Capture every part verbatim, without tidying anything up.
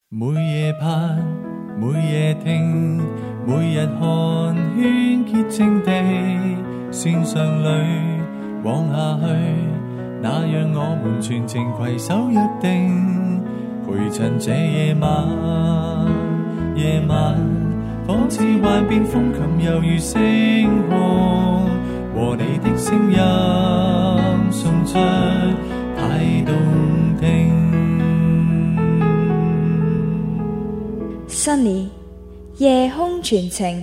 每夜盼，每夜聽，每日看圈潔淨地線上裏往下去，那讓我們全程攜手約定，陪襯這夜晚。夜晚仿似幻變風琴，猶如星空，和你的聲音送出太動聽。 Sunny 夜空傳情。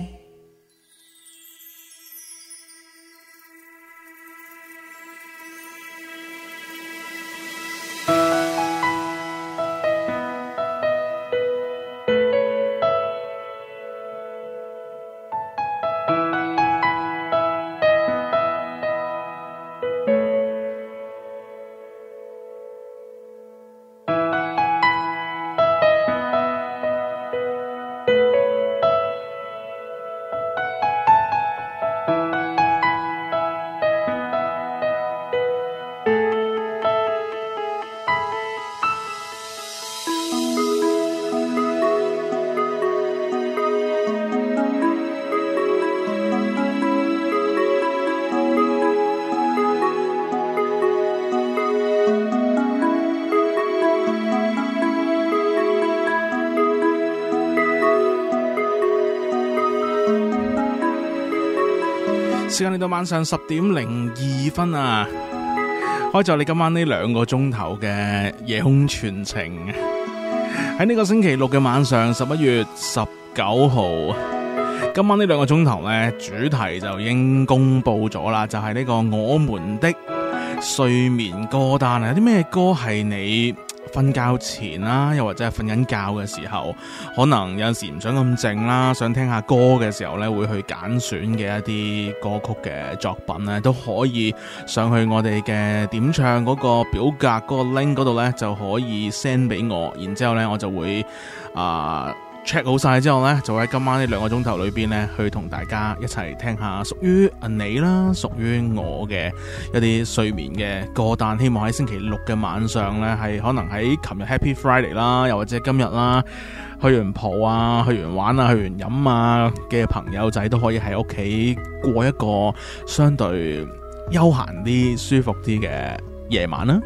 時間嚟到晚上十點零二分啊，開咗你今晚呢兩個鐘頭嘅夜空傳情。喺呢個星期六嘅晚上，十一月十九號，今晚呢兩個鐘頭呢，主題就已經公布咗啦，就係呢個我們的睡眠歌單啊。有啲咩歌係你瞓覺前啦，又或者係瞓緊覺嘅時候，可能有陣時唔想咁靜啦，想聽下歌嘅時候咧，會去揀選嘅一啲歌曲嘅作品咧，都可以上去我哋嘅點唱嗰個表格嗰個 link 嗰度咧，就可以 send 俾我，然之後咧我就會啊、呃check 好晒之後呢，就喺今晚呢兩個鐘頭裏邊呢，去同大家一齊聽下屬於你啦，屬於我嘅一啲睡眠嘅歌單。希望喺星期六嘅晚上呢，係可能喺琴日 Happy Friday 啦，又或者今日啦，去完蒲啊，去完玩啊，去完飲啊嘅朋友仔都可以喺屋企過一個相對休閒啲、舒服啲嘅夜晚啦。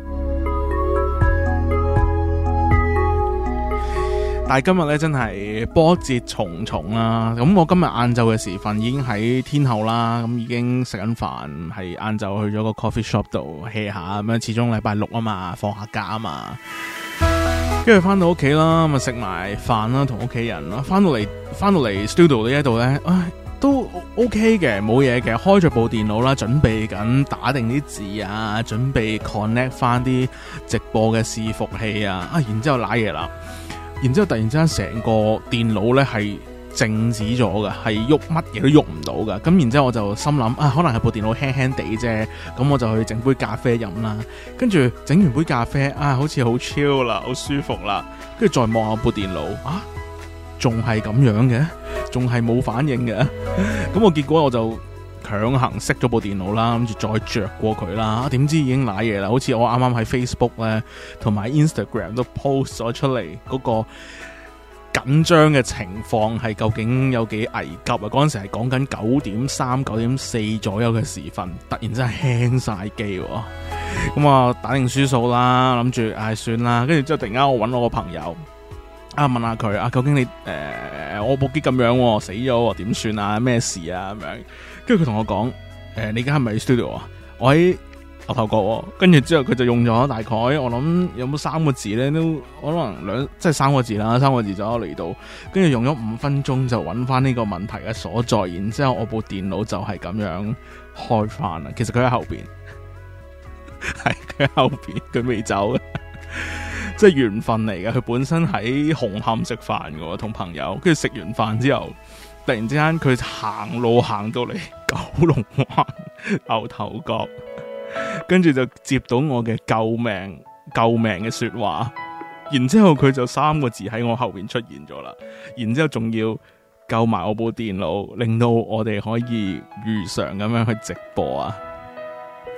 但係今日咧真係波折重重啦，咁我今日晏晝嘅時分已經喺天后啦，咁已經食緊飯，係晏晝去咗個 coffee shop 度 hea 下咁樣，始終禮拜六啊嘛，放下假啊嘛，跟住翻到屋企啦，咁啊食埋飯啦，同屋企人啦，翻到嚟翻到嚟 studio 呢一度咧，唉都 OK 嘅，冇嘢嘅，開咗部電腦啦，準備緊打定啲字啊，準備 connect 翻啲直播嘅伺服器啊，啊然之後瀨嘢啦。然之後突然之間成個電腦咧係靜止咗嘅，係喐乜嘢都喐唔到嘅。咁然之後我就心諗啊，可能係部電腦輕輕地啫。咁我就去整杯咖啡飲啦。跟住整完杯咖啡啊，好似好 chill 啦，好舒服啦。跟住再望下部電腦啊，仲係咁樣嘅，仲係冇反應嘅。咁我結果我就強行熄咗部電腦啦，諗住再着過佢啦，點知已經瀨嘢啦，好似我啱啱喺 Facebook 咧同埋 Instagram 都 post 咗出嚟嗰個緊張嘅情況係究竟有幾危急啊！嗰陣時係講緊九點三、九點四左右嘅時分，突然之間輕晒機，咁啊打定輸數啦，諗住唉算啦，跟住之後突然間我搵我個朋友啊問下佢啊，究竟你誒、呃、我部機咁樣死咗點算啊？咩事啊？咁樣。跟住佢同我講，誒、呃，你而家係咪 studio 啊？我喺牛頭角，跟住之後佢就用咗大概，我諗有冇三個字咧，都可能兩，即係三個字啦，三個字就嚟到，跟住用咗五分鐘就揾翻呢個問題嘅所在，然之後我部電腦就係咁樣開翻啦。其實佢喺後邊，係佢喺後邊，佢未走嘅，即係緣分嚟嘅。佢本身喺紅磡食飯嘅，同朋友，跟住食完飯之後。突然之間佢行路行到嚟九龍灣牛頭角，跟住就接到我嘅救命救命嘅說話，然之後佢就三個字喺我後邊出現咗啦，然之後仲要救埋我部電腦，令到我哋可以如常咁樣去直播啊！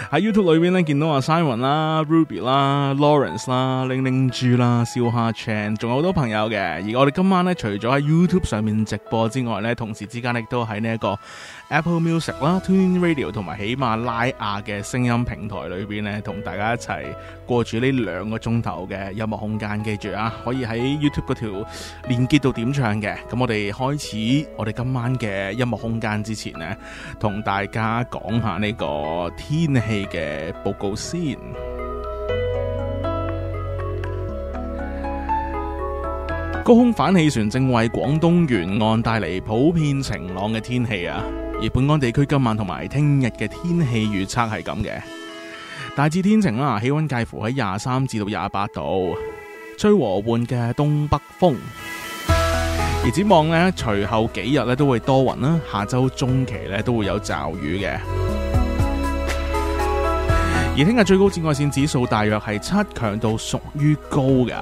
喺 YouTube 裏邊咧見到阿 Simon 啦、Ruby 啦、Lawrence 啦、Ling Ling 豬啦、燒蝦 Chan， 仲有好多朋友嘅。而我哋今晚咧除咗喺 YouTube 上面直播之外咧，同時之間亦都喺呢一個 Apple Music 啦、TuneIn Radio 同埋喜馬拉雅嘅聲音平台裏邊咧，同大家一齊過住呢兩個鐘頭嘅音樂空間。記住啊，可以喺 YouTube 嗰條連結度點唱嘅。咁我哋開始我哋今晚嘅音樂空間之前呢，同大家講下呢個天氣嘅報告先。高空反氣旋正為廣東沿岸帶嚟普遍晴朗嘅天氣啊，而本港地區今晚同埋聽日嘅天氣預測係咁嘅，大致天晴啦，氣溫介乎喺廿三至到廿八度，吹和緩嘅東北風。而展望呢，隨後幾日咧都會多雲啦，下周中期咧都會有驟雨嘅。而聽日最高紫外線指數大約係七，強度屬於高㗎。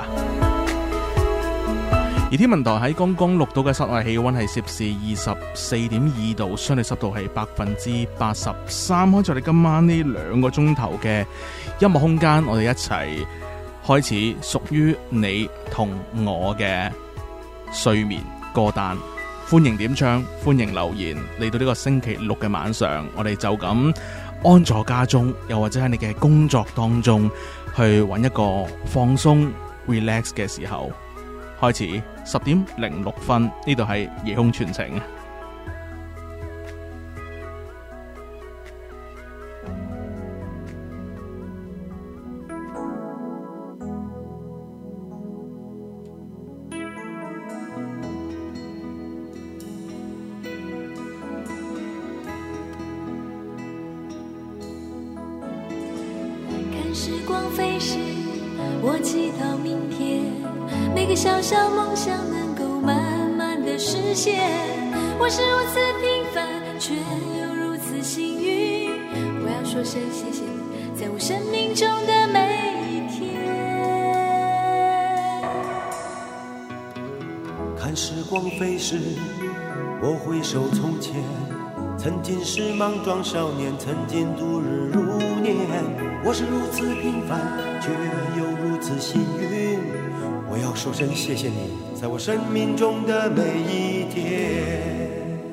而天文台喺剛剛錄到嘅室外氣溫係攝氏二十四點二度，相對濕度係百分之八十三。開咗我哋今晚呢兩個鐘頭嘅音樂空間，我哋一齊開始屬於你同我嘅睡眠歌單。歡迎點唱，歡迎留言。嚟到呢個星期六嘅晚上，我哋就咁安坐家中，又或者喺你嘅工作當中去揾一個放鬆 relax 嘅時候。開始十點零六分，呢度係夜空傳情。 看時光飛逝，我祈禱明天每個小小夢想能夠慢慢的實現。我是如此平凡，卻又如此幸運。我要說聲謝謝你，在我生命中的每一天。 看時光飛逝，我回首從前，曾經是莽撞少年，曾經度日如年。我是如此平凡，卻又如此幸運。我要說聲謝謝你，在我生命中的每一天。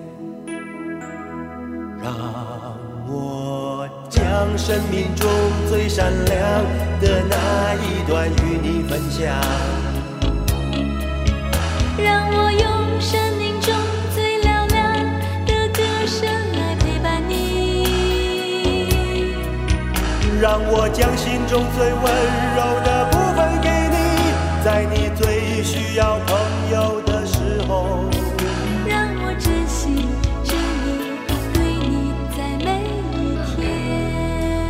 讓我將生命中最閃亮的那一段與你分享。 讓我用生命中最嘹亮的歌聲來陪伴你。 讓我將心中最溫柔的部分給你，在你最需要朋友的時候， 讓我真心真意對你在每一天。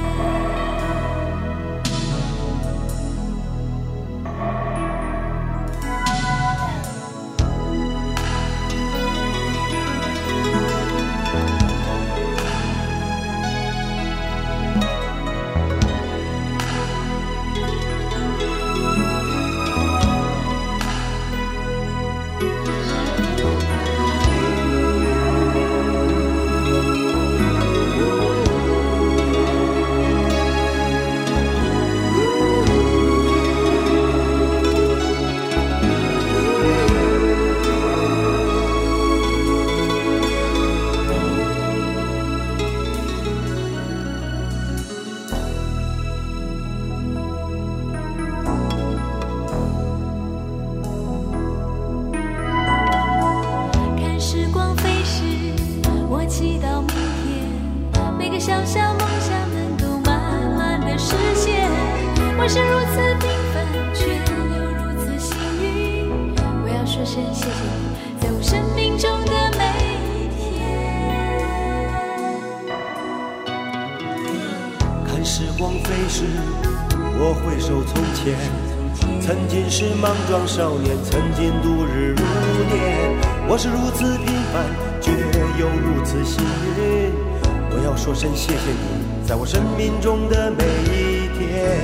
莽撞少年，曾經度日如年。我是如此平凡，卻又如此幸運。我要說聲謝謝你，在我生命中的每一天。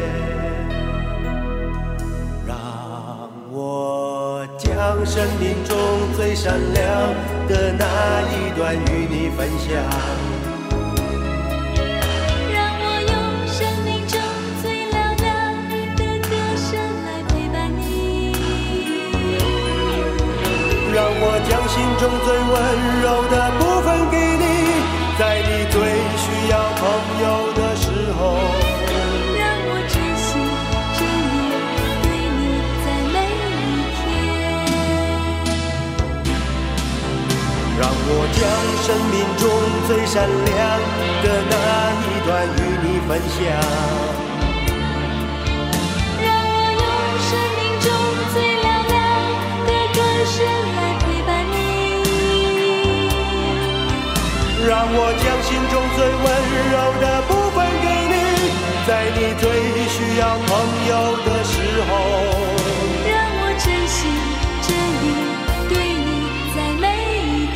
讓我將生命中最閃亮的那一段與你分享。 讓我让我将心中最温柔的部分给你，在你最需要朋友的时候， 让我真心真意对你在每一天， 让我将生命中最闪亮的那一段与你分享，让我将心中最温柔的部分给你，在你最需要朋友的时候， 让我真心真意对你在每一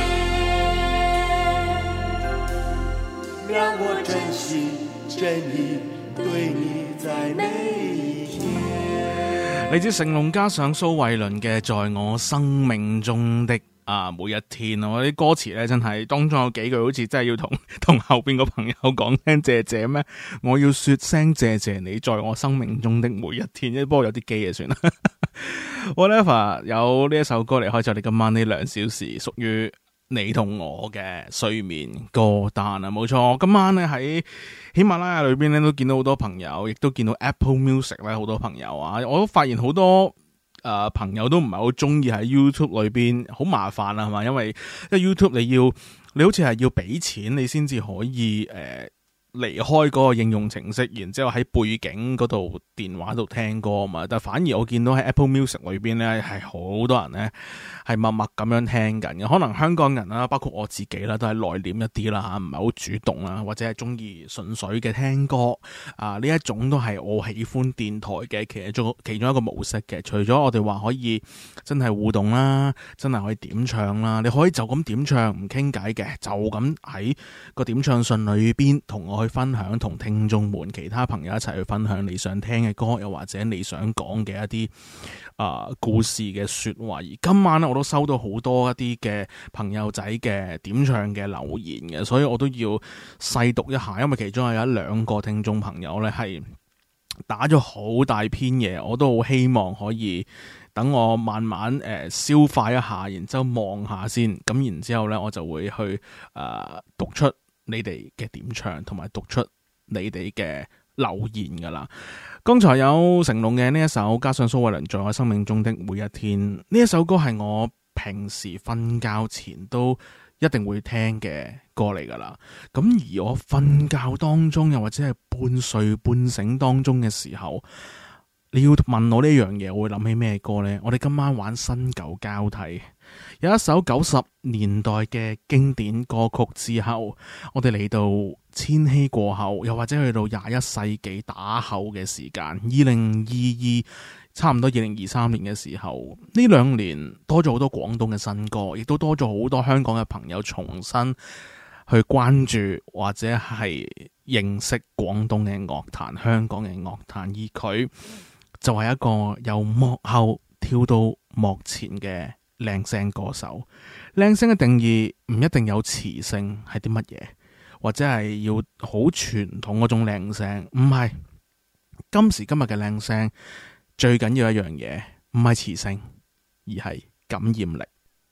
天， 让我真心真意对你在每一天。 嚟自成龍加上蘇慧倫嘅《在我生命中的啊每一天》，我啲歌詞咧真係當中有幾句好似真係要同同後邊個朋友講聲謝謝咩？我要說聲謝謝你在我生命中的每一天，不過有啲機啊算啦。Whatever， 有呢一首歌嚟開咗你今晚呢兩小時，屬於你同我嘅睡眠歌單啊，冇錯。今晚咧喺喜馬拉雅裏邊咧都見到好多朋友，亦都見到 Apple Music 咧好多朋友啊，我都發現好多。誒、呃，朋友都唔係好中意喺 YouTube 裏邊，好麻煩啊，係嘛？因為因為 YouTube 你要，你好似係要俾錢，你先至可以誒離、呃、開嗰個應用程式，然之後喺背景嗰度電話度聽歌啊嘛。但反而我見到喺 Apple Music 裏邊咧，係好多人咧係默默咁樣聽緊嘅。可能香港人啦，包括我自己啦，都係內斂一啲啦吓，唔係好主動啦，或者係中意純粹嘅聽歌啊。呢一種都係我喜歡電台嘅其中其中一個模式嘅。除咗我哋話可以真係互動啦，真係可以點唱啦，你可以就咁點唱唔傾偈嘅，就咁喺個點唱信裏邊同我去分享，同聽眾們其他朋友一齊去分享你想聽嘅歌，又或者你想講嘅一啲啊、呃、故事嘅說話。而今晚咧，我都收到好多一啲嘅朋友仔嘅點唱嘅留言嘅，所以我都要細讀一下，因為其中有一兩個聽眾朋友咧係打咗好大篇嘢，我都好希望可以等我慢慢誒、呃、消化一下，然之後望下先，咁然之後咧我就會去誒、呃、讀出你哋嘅點唱，同埋讀出你哋嘅留言噶啦。剛才有成龍嘅呢一首，加上蘇慧倫在我生命中的每一天，呢一首歌係我平時瞓覺前都一定會聽嘅歌嚟噶啦。咁而我瞓覺當中，又或者係半睡半醒當中嘅時候，你要問我呢樣嘢，我會諗起咩歌呢？我哋今晚玩新舊交替，有一首九十年代嘅經典歌曲之後，我哋嚟到千禧過後，又或者去到廿一世紀打後嘅時間，二零二二差唔多二零二三年嘅時候，呢兩年多咗好多廣東嘅新歌，亦都多咗好多香港嘅朋友重新去關注或者係認識廣東嘅樂壇、香港嘅樂壇，而佢就係一個由幕後跳到幕前嘅靚聲歌手。靚聲嘅定義唔一定有磁性係啲乜嘢，或者係要好傳統嗰種靚聲，唔係。今時今日嘅靚聲最緊要一樣嘢，唔係磁性，而係感染力。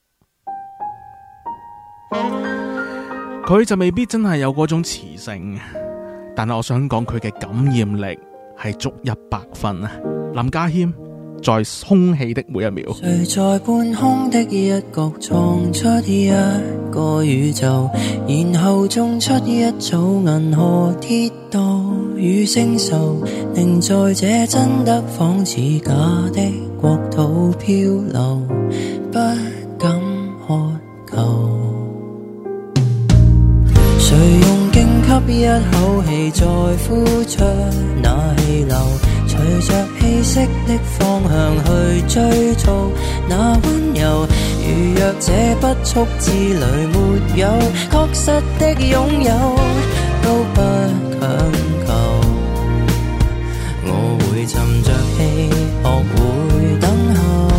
佢就未必真係有嗰種磁性，但係我想講佢嘅感染力係足一百分啊！林家謙在空氣的每一秒， 誰在半空的一角創出一個宇宙，然後種出一組銀河鐵道與星宿，令在這真的仿似假的國土漂流，不敢渴求。誰用勁吸一口氣再呼出那氣流，隨着氣息的方向去追逐那溫柔，如若這不速之旅沒有確實的擁有，都不強求。我會沉着氣學會等候，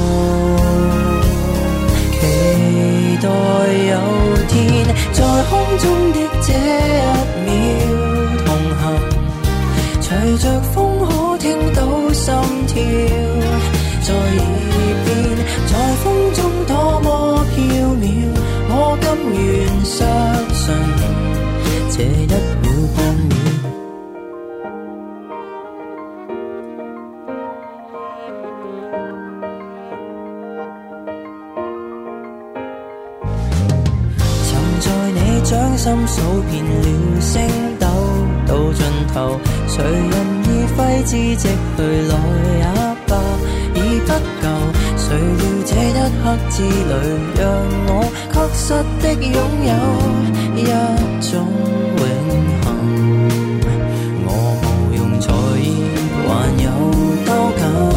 期待有天在空中的這一秒同行，隨着風可聽到心跳在耳邊，在風中多麼這一秒半秒。曾在你掌心數遍了星斗，到盡頭，誰人已揮之即去來也罷，已不夠。誰料這一刻之旅，讓我確實的擁有一種永恆。我無用在意還有多久，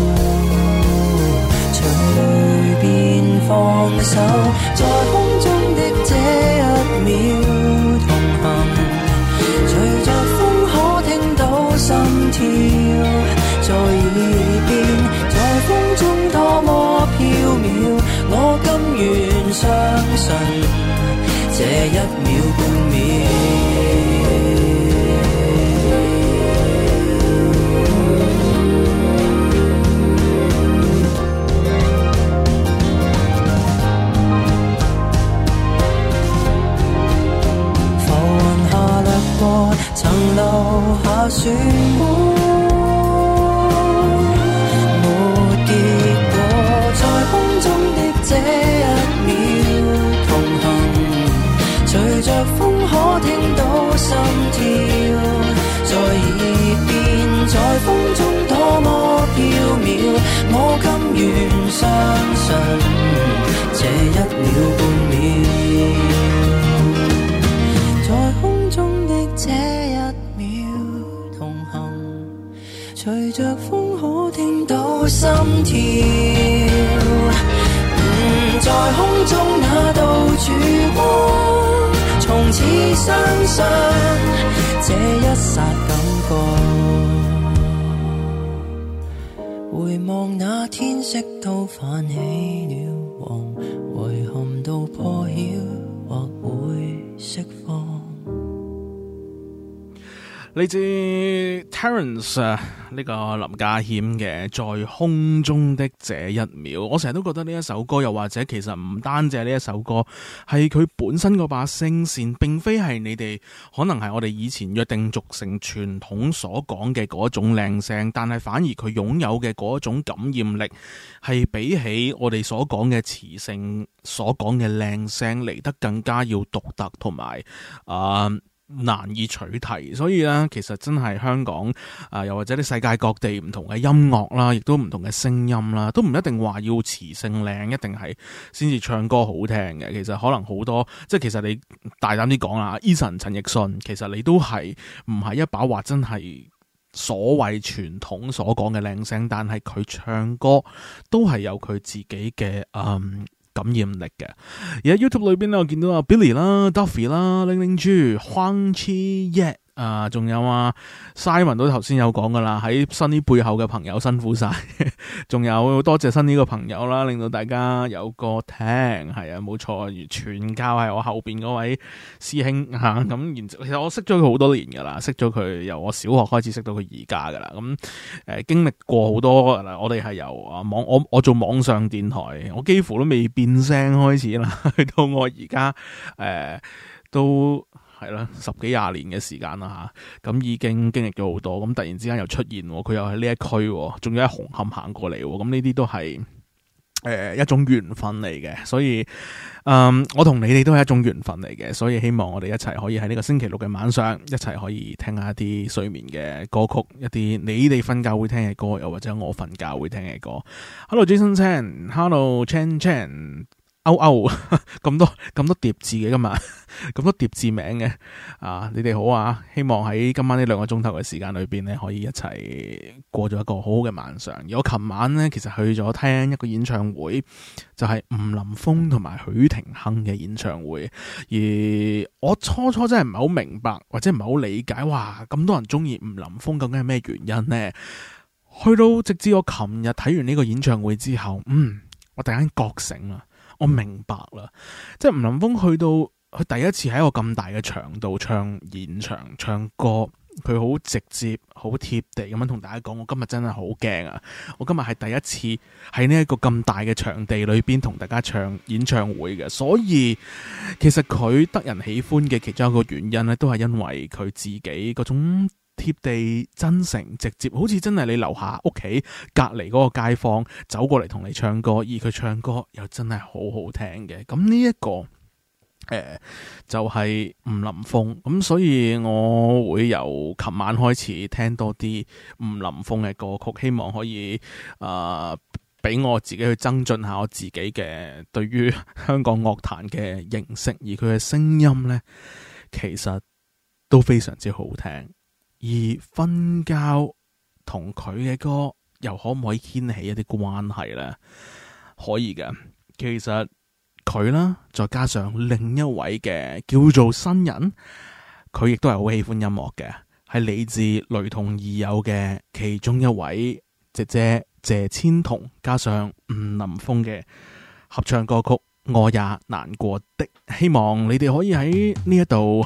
隨便放手，在空中的這一秒同行，隨着風可聽到心跳在耳邊，在風中多麼飄渺，我甘願相信這一秒半秒。浮雲下掠過，曾留下漩渦。這一秒同行，隨着風可聽到心跳在耳邊，在風中多麼飄渺，我甘願相信這一秒半秒，在空中的這一秒同行，隨着風可聽到心跳在空中那道曙光，從此相信這一剎感覺，回望那天色都泛起了黃，遺憾到破曉或會釋放。 嚟自 Terence 呢個林家謙嘅在空中的這一秒，我成日都覺得呢一首歌，又或者其實唔單止係呢一首歌，係佢本身嗰把聲線，並非係你哋可能係我哋以前約定俗成傳統所講嘅嗰種靚聲，但係反而佢擁有嘅嗰種感染力，係比起我哋所講嘅磁性所講嘅靚聲嚟得更加要獨特同埋啊難以取替，所以咧，其實真係香港啊、呃，又或者啲世界各地唔同嘅音樂啦，亦都唔同嘅聲音啦，都唔一定話要磁性靚，一定係先至唱歌好聽嘅。其實可能好多，即係其實你大膽啲講啦 Eason 陳奕迅，其實你都係唔係一把話真係所謂傳統所講嘅靚聲，但係佢唱歌都係有佢自己嘅嗯。感染力嘅。而喺 YouTube 裏邊咧，我見到阿 Billy 啦、Duffy 啦、零零豬、黃七耶啊，仲有啊 Simon 都頭先有講噶啦，喺新呢背後嘅朋友辛苦晒，仲有多謝新呢個朋友啦，令到大家有個聽，係啊冇錯，全靠係我後邊嗰位師兄吓，咁、啊、然之後其實我識咗佢好多年噶啦，識咗佢由我小學開始識到佢而家噶啦，咁、嗯、誒、呃、經歷過好多，我哋係由啊網我我做網上電台，我幾乎都未變聲開始啦，去到我而家誒都。係啦，十幾廿年嘅時間啦吓，咁已經經歷咗好多，咁突然之間又出現，佢又喺呢一區，仲要喺紅磡行過嚟，咁呢啲都係誒、呃、一種緣分嚟嘅，所以嗯，我同你哋都係一種緣分嚟嘅，所以希望我哋一齊可以喺呢個星期六嘅晚上，一齊可以聽下一啲睡眠嘅歌曲，一啲你哋瞓覺會聽嘅歌，又或者我瞓覺會聽嘅歌。Hello Jason Chan，Hello Chan Chan。歐歐咁多咁多疊字嘅今日，咁多疊字名嘅啊！你哋好啊！希望喺今晚呢兩個鐘頭嘅時間裏邊咧，可以一齊過咗一個好好嘅晚上。而我琴晚咧，其實去咗聽一個演唱會，就係、是、吳林峰同埋許廷鏗嘅演唱會。而我初初真係唔係好明白，或者唔係好理解，哇！咁多人中意吳林峰，究竟係咩原因呢？去到直至我琴日睇完呢個演唱會之後，嗯，我突然間覺醒啦。我明白啦，即係吳林峰去到佢第一次喺一個咁大嘅場度唱演唱唱歌， 佢好直接、好貼地咁樣同大家講，我今日真係好驚啊！我今日係第一次喺呢一個咁大嘅場地裏邊同大家唱演唱會嘅，所以其實佢得人喜歡嘅其中一個原因咧，都係因為佢自己嗰種貼地、真誠、直接，好似真係你樓下屋企隔離嗰個街坊走過嚟同你唱歌，而佢唱歌又真係好好聽嘅。咁呢一個誒、呃、就係、是、吳林峰，咁所以我會由琴晚開始聽多啲吳林峰嘅歌曲，希望可以啊俾、呃、我自己去增進下我自己嘅對於香港樂壇嘅認識，而佢嘅聲音呢，其實都非常之好聽。而瞓覺同佢嘅歌又可唔可以牽起一啲關係呢？可以嘅，其實佢啦，再加上另一位嘅叫做新人，佢亦都係好喜歡音樂嘅，係嚟自雷同二友嘅其中一位姐姐謝千彤，加上吳林峰嘅合唱歌曲《我也難過的》，希望你哋可以喺呢一度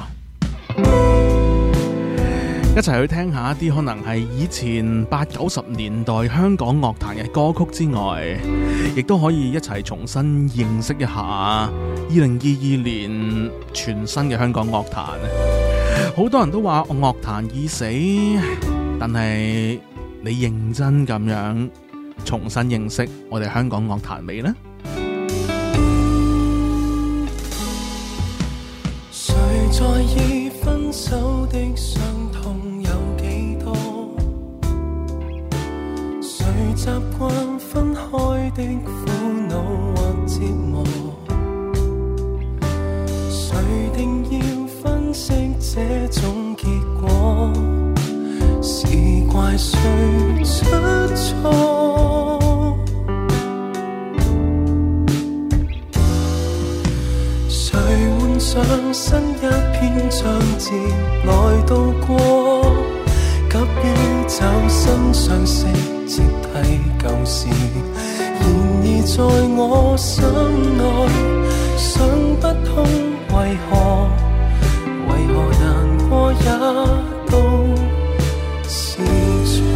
一齊去聽下一啲可能係以前八九十年代香港樂壇嘅歌曲之外，亦都可以一齊重新認識一下二零二二年全新嘅香港樂壇。好多人都話樂壇已死，但係你認真咁樣重新認識我哋香港樂壇未呢？ 誰在意分手的傷痛有幾多？誰習慣分開的苦惱或折磨？誰定要分析這種結果？是怪誰出錯？誰換上新一篇章節來度過？急於找新相識接替舊事，然而在我心內想不通為何，為何難過也都是錯。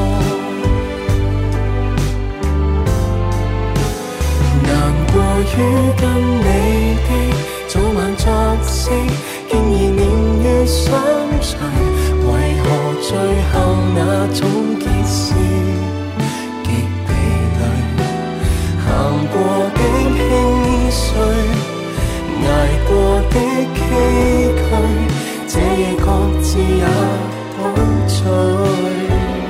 難過於跟你的早晚作息，竟已年月相隨，為何最後那種結是極疲累？行過的輕碎，捱過的崎嶇，這夜各自也倒醉。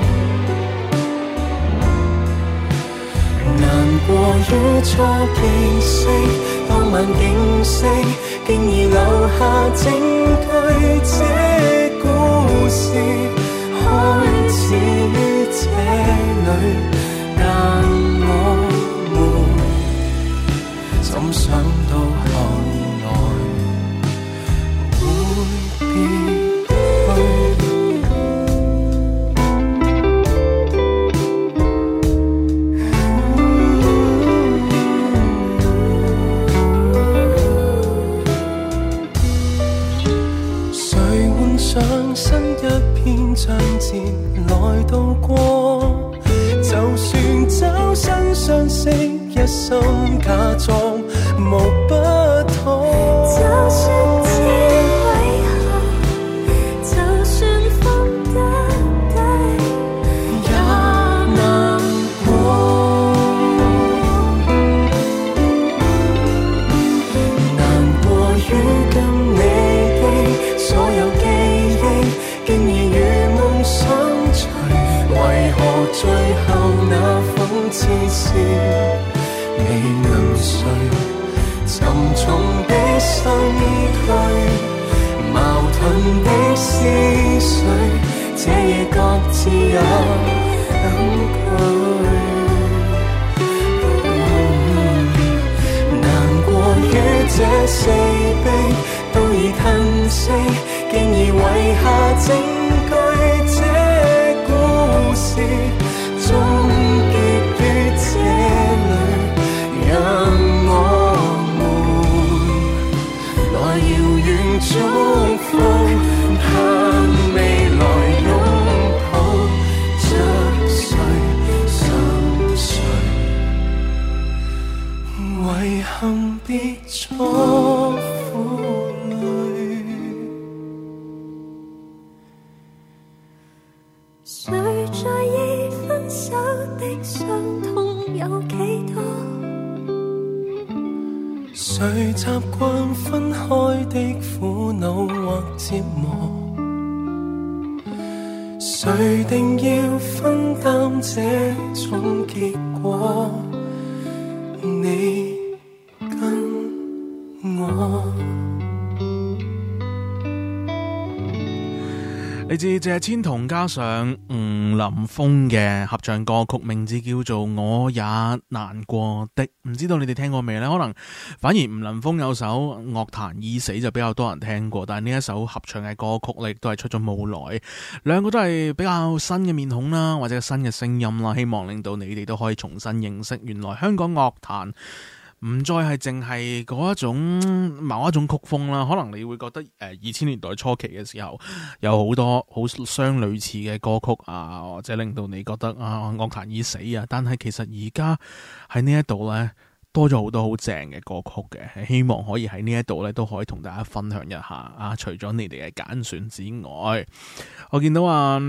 難過於初見識，當晚景色竟已留下證據，這故事開始於這裡，但我們怎想到後來會變？新一篇章節來度過，就算找新相識，一心假裝無不妥。就算知為何，就算放得低，也難過。難過於跟你的所有記憶竟已如夢相隨，為何最後那諷刺是未能睡？沉重的身軀，矛盾的思緒，這夜各自也等佢。難過於這四壁都已褪色，竟已遺下證據，這故事終結於這裡，讓我們來遙遠祝福，盼未來擁遺憾別作負累， 誰在意分手的傷痛有幾多？ 誰習慣分開的苦惱或折磨？誰定要分擔這種結果？你跟我。 嚟自謝千桐加上吳林峰嘅合唱歌曲，名字叫做《我也難過的》，唔知道你哋聽過未呢？可能反而吳林峰有首《樂壇已死》就比較多人聽過，但係呢一首合唱嘅歌曲咧，亦都係出咗冇耐，兩個都係比較新嘅面孔啦，或者新嘅聲音啦，希望令到你哋都可以重新認識原來香港樂壇唔再係淨係嗰一種某一種曲風啦，可能你會覺得誒二千年代初期嘅時候有好多好相類似嘅歌曲啊，或者令到你覺得啊樂壇已死啊，但係其實而家喺呢一度呢，多咗好多好正嘅歌曲嘅，希望可以喺呢一度呢都可以同大家分享一下啊。除咗你哋嘅揀選之外，我見到啊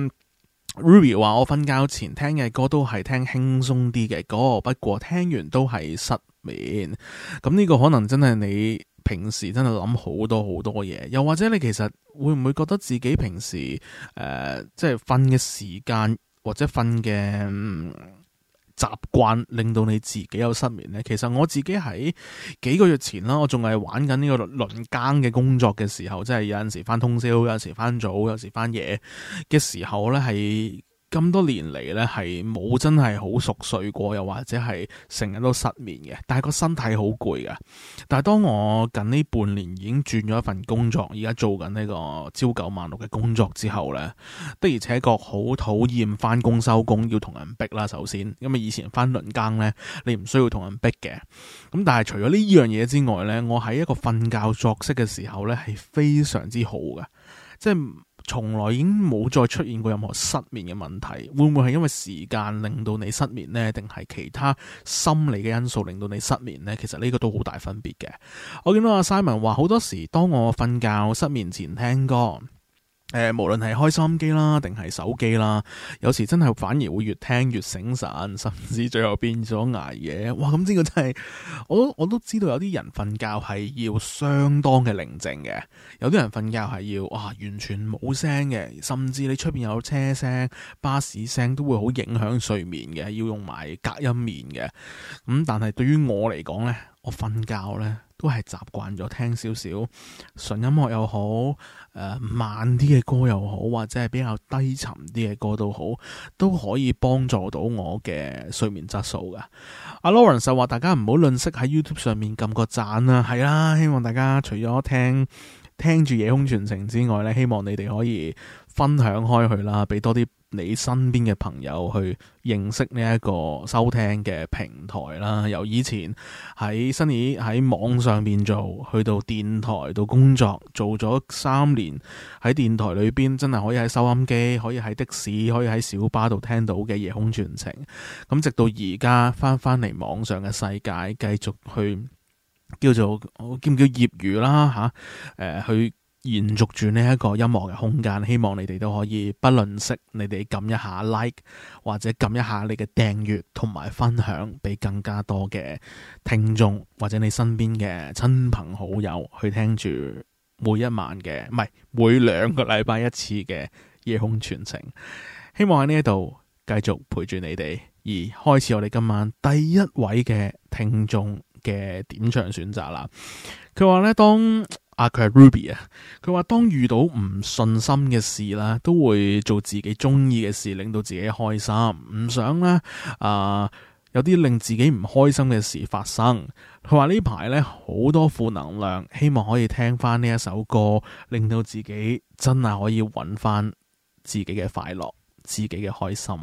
Ruby 話我瞓覺前聽嘅歌都係聽輕鬆啲嘅歌，不過聽完都係失眠。咁呢個可能真係你平時真係諗好多好多嘢，又或者你其實會唔會覺得自己平時誒、呃、即係瞓嘅時間或者瞓嘅習慣令到你自己有失眠呢？其實我自己喺幾個月前啦，我仲係玩緊呢個輪更嘅工作嘅時候，即係有陣時翻通宵，有時翻早，有時翻夜嘅時候呢，係咁多年嚟呢，係冇真係好熟睡過，又或者係成日都失眠嘅，但係個身體好攰㗎。但係當我近呢半年已經轉咗一份工作，而家做緊呢個朝九晚六嘅工作之後呢，的而且確好討厭翻工收工要同人逼啦。首先，因為以前翻輪更呢，你唔需要同人逼嘅。咁但係除咗呢樣嘢之外呢，我喺一個瞓覺作息嘅時候呢，係非常之好嘅，即係從來已經冇再出現過任何失眠嘅問題。會唔會係因為時間令到你失眠呢？定係其他心理嘅因素令到你失眠呢？其實呢個都好大分別嘅。我見到阿 Simon 話好多時當我瞓覺失眠前聽歌，誒、呃，無論係開收音機啦，定係手機啦，有時真係反而會越聽越醒神，甚至最後變咗捱夜。哇！咁呢個真係，我都我都知道有啲人瞓覺係要相當嘅寧靜嘅，有啲人瞓覺係要哇完全冇聲嘅，甚至你出邊有車聲、巴士聲都會好影響睡眠嘅，要用埋隔音棉嘅。咁、嗯、但係對於我嚟講呢，我瞓覺呢都係習慣咗聽少少純音樂又好，誒、呃、慢啲嘅歌又好，或者係比較低沉啲嘅歌都好，都可以幫助到我嘅睡眠質素噶。阿 Lawrence 就話大家唔好吝嗇喺 YouTube 上面撳個讚啦，係啦，希望大家除咗聽聽住夜空傳情之外咧，希望你哋可以分享開去啦，俾多啲你身邊嘅朋友去認識呢一個收聽嘅平台啦。由以前喺 Sunny 喺網上邊做，去到電台到工作，做咗三年喺電台裏邊，真係可以喺收音機，可以喺的士，可以喺小巴度聽到嘅夜空傳情。咁直到而家翻翻嚟網上嘅世界，繼續去叫做叫唔叫業餘啦吓，誒、呃、去。延續住呢一個音樂嘅空間，希望你哋都可以不吝嗇，你哋撳一下 like 或者撳一下你嘅訂閱同埋分享，俾更加多嘅聽眾或者你身邊嘅親朋好友去聽住每一晚嘅，唔係每兩個禮拜一次嘅夜空傳情。希望喺呢一度繼續陪住你哋，而開始我哋今晚第一位嘅聽眾嘅點唱選擇啦。佢話咧，當啊，佢係 Ruby 啊！佢話當遇到唔順心嘅事啦，都會做自己中意嘅事，令到自己開心。唔想咧啊、呃，有啲令自己唔開心嘅事發生。佢話呢排咧好多負能量，希望可以聽翻呢一首歌，令到自己真係可以揾翻自己嘅快樂、自己嘅開心。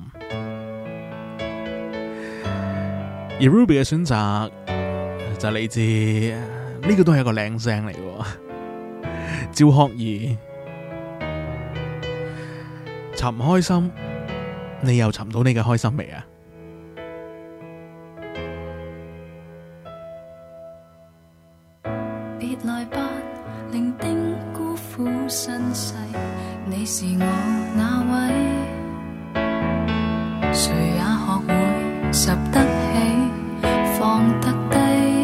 而 Ruby 嘅選擇就嚟自呢、這個都係一個靚聲嚟嘅。趙學而尋唔開心，你又尋到你嘅開心未啊？ 別來吧，伶仃孤苦身世，你是我那位，誰也學會拾得起，放得低。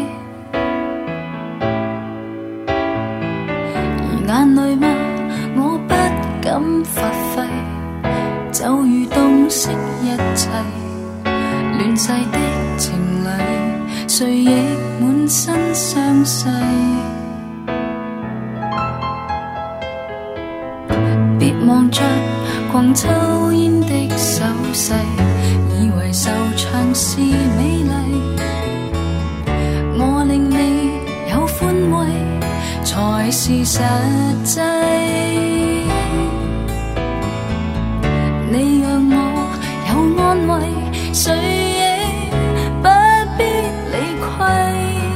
而眼淚嗎？我不敢發揮，就如洞悉一切，亂世的情侶，誰亦滿身傷勢。別望着狂抽煙的手勢，以為受唱是美麗，我令你有寬慰，才是實際。你讓我有安慰，誰亦不必理虧。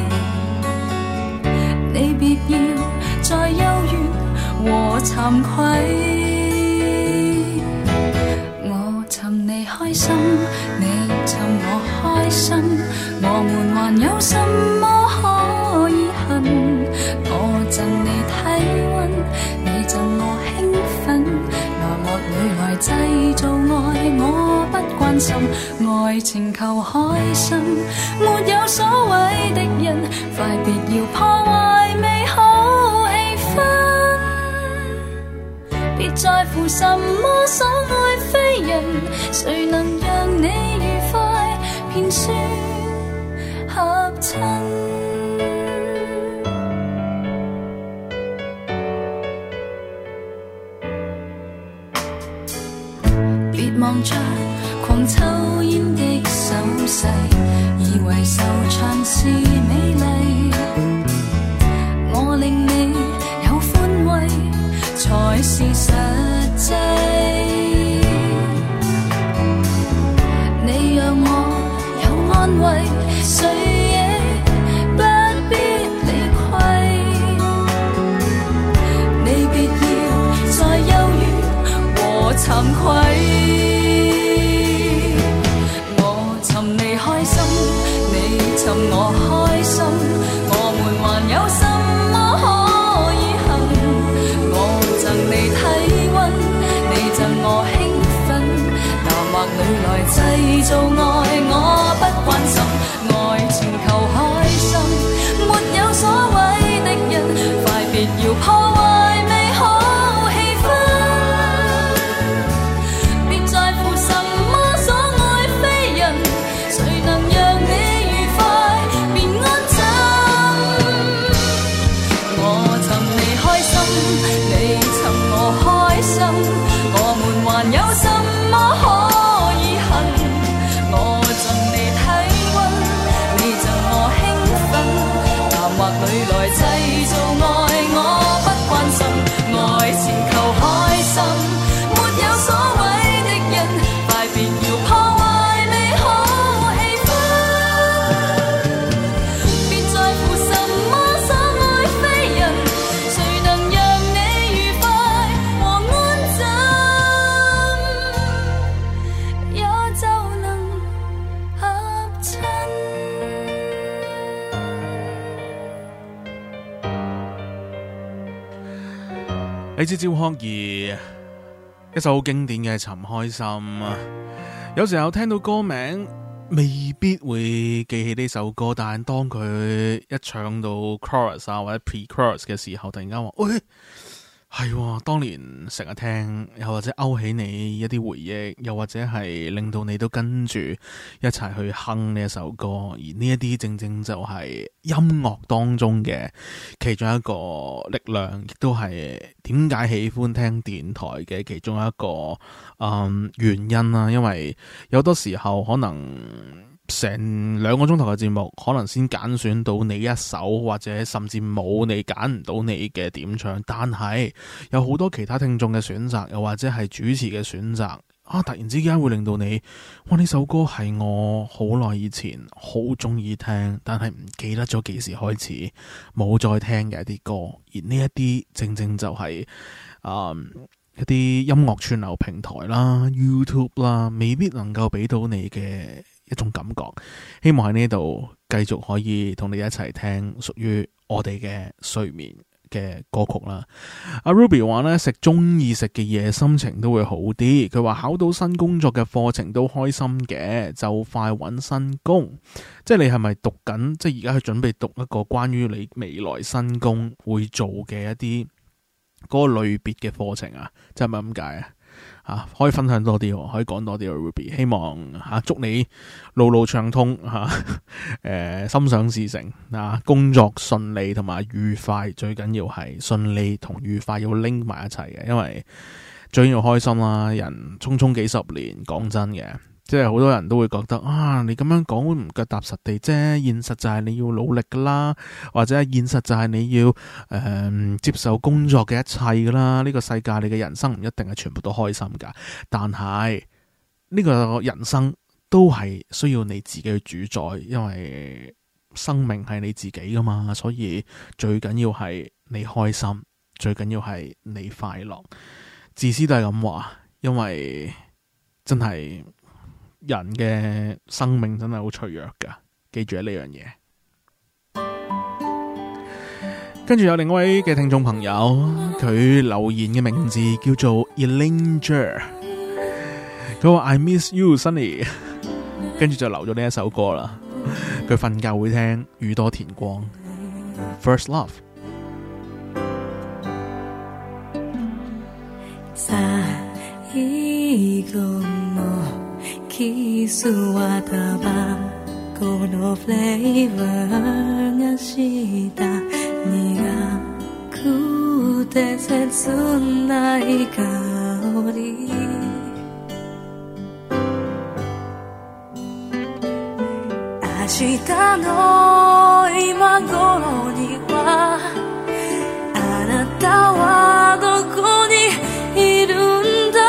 你別要再憂怨和慚愧。我尋你開心，你尋我開心，我們還有什麼可以恨？我贈你體溫，你贈我興奮，拿幕裏來製造愛，我不關心，愛情求開心，沒有所謂的人，快別要破壞美好氣氛，別在乎什麼所愛非人，誰能讓你愉快便算合襯。別望着狂抽煙的手勢，以為受唱是美麗，我令你有寬慰，才是實際。你讓我有安慰，誰亦不必理虧。你別要再憂鬱和慚愧。我尋你開心，你尋我開心，我們還有什麼可以恨？我贈你體溫，你贈我興奮，拿畫裏來製造愛，我不關心，愛情求開心，沒有所謂的人，快別要破壞美好氣氛，別在乎什麼所愛非人，誰能讓你愉快便安枕。我尋你開心，你尋我開心，我們還有什麼可以恨？我贈你體溫，你贈我興奮，談話裏來製造愛，我不關心，愛情求開心，沒有所謂的人，快別要破壞美好氣氛，別在乎什麼所愛非人，誰能讓你愉快和安枕，也就能合襯。 嚟自趙學而一首好經典嘅《尋開心》啊，有時候聽到歌名未必會記起呢首歌，但係當佢一唱到 chorus 啊或者 pre-chorus 嘅時候，突然間話，喂，係喎，當年成日聽，又或者勾起你一啲回憶，又或者係令到你都跟住一齊去哼呢一首歌，而呢一啲正正就係音樂當中嘅其中一個力量，亦都係點解喜歡聽電台嘅其中一個嗯原因啦。因為有好多時候可能成兩個鐘頭嘅節目，可能先揀選到你一首，或者甚至冇你揀唔到你嘅點唱，但係有好多其他聽眾嘅選擇，又或者係主持嘅選擇啊，突然之間會令到你，哇！呢首歌係我好耐以前好中意聽，但係唔記得咗幾時開始冇再聽嘅一啲歌，而呢一啲正正就係、是、啊、嗯、一啲音樂串流平台啦、YouTube 啦，未必能夠俾到你嘅一種感覺。希望喺呢度繼續可以同你一齊聽屬於我哋嘅睡眠嘅歌曲啦。阿 Ruby 話呢，食中意食嘅嘢心情都會好啲。佢話考到新工作嘅課程都開心嘅，就快揾新工。即係你係咪讀緊？即係而家去準備讀一個關於你未來新工會做嘅一啲嗰個類別嘅課程啊？即係咪咁解啊？啊，可以分享多啲，可以講多啲 Ruby。希望吓、啊、祝你路路暢通吓，誒、啊呃、心想事成啊，工作順利同埋愉快，最緊要係順利同愉快要拎埋一齊嘅，因為最緊要開心啦。人匆匆幾十年，講真嘅。即係好多人都會覺得啊，你咁樣講會唔腳踏實地啫。現實就係你要努力噶啦，或者現實就係你要誒、呃、接受工作嘅一切噶啦。呢個世界你嘅人生唔一定係全部都開心噶，但係呢個人生都係需要你自己去主宰，因為生命係你自己噶嘛。所以最緊要係你開心，最緊要係你快樂。自私都係咁話，因為真係。人嘅生命真係好脆弱噶，記住呢樣嘢。跟住有另一位嘅聽眾朋友，佢留言嘅名字叫做 Elanger， 佢話 I miss you Sunny， 跟住就留咗呢一首歌啦。佢瞓覺會聽宇多田光 First Love。 キスはタバコのフレーバーがした苦くて切ない香り明日の今頃にはあなたはどこにいるんだ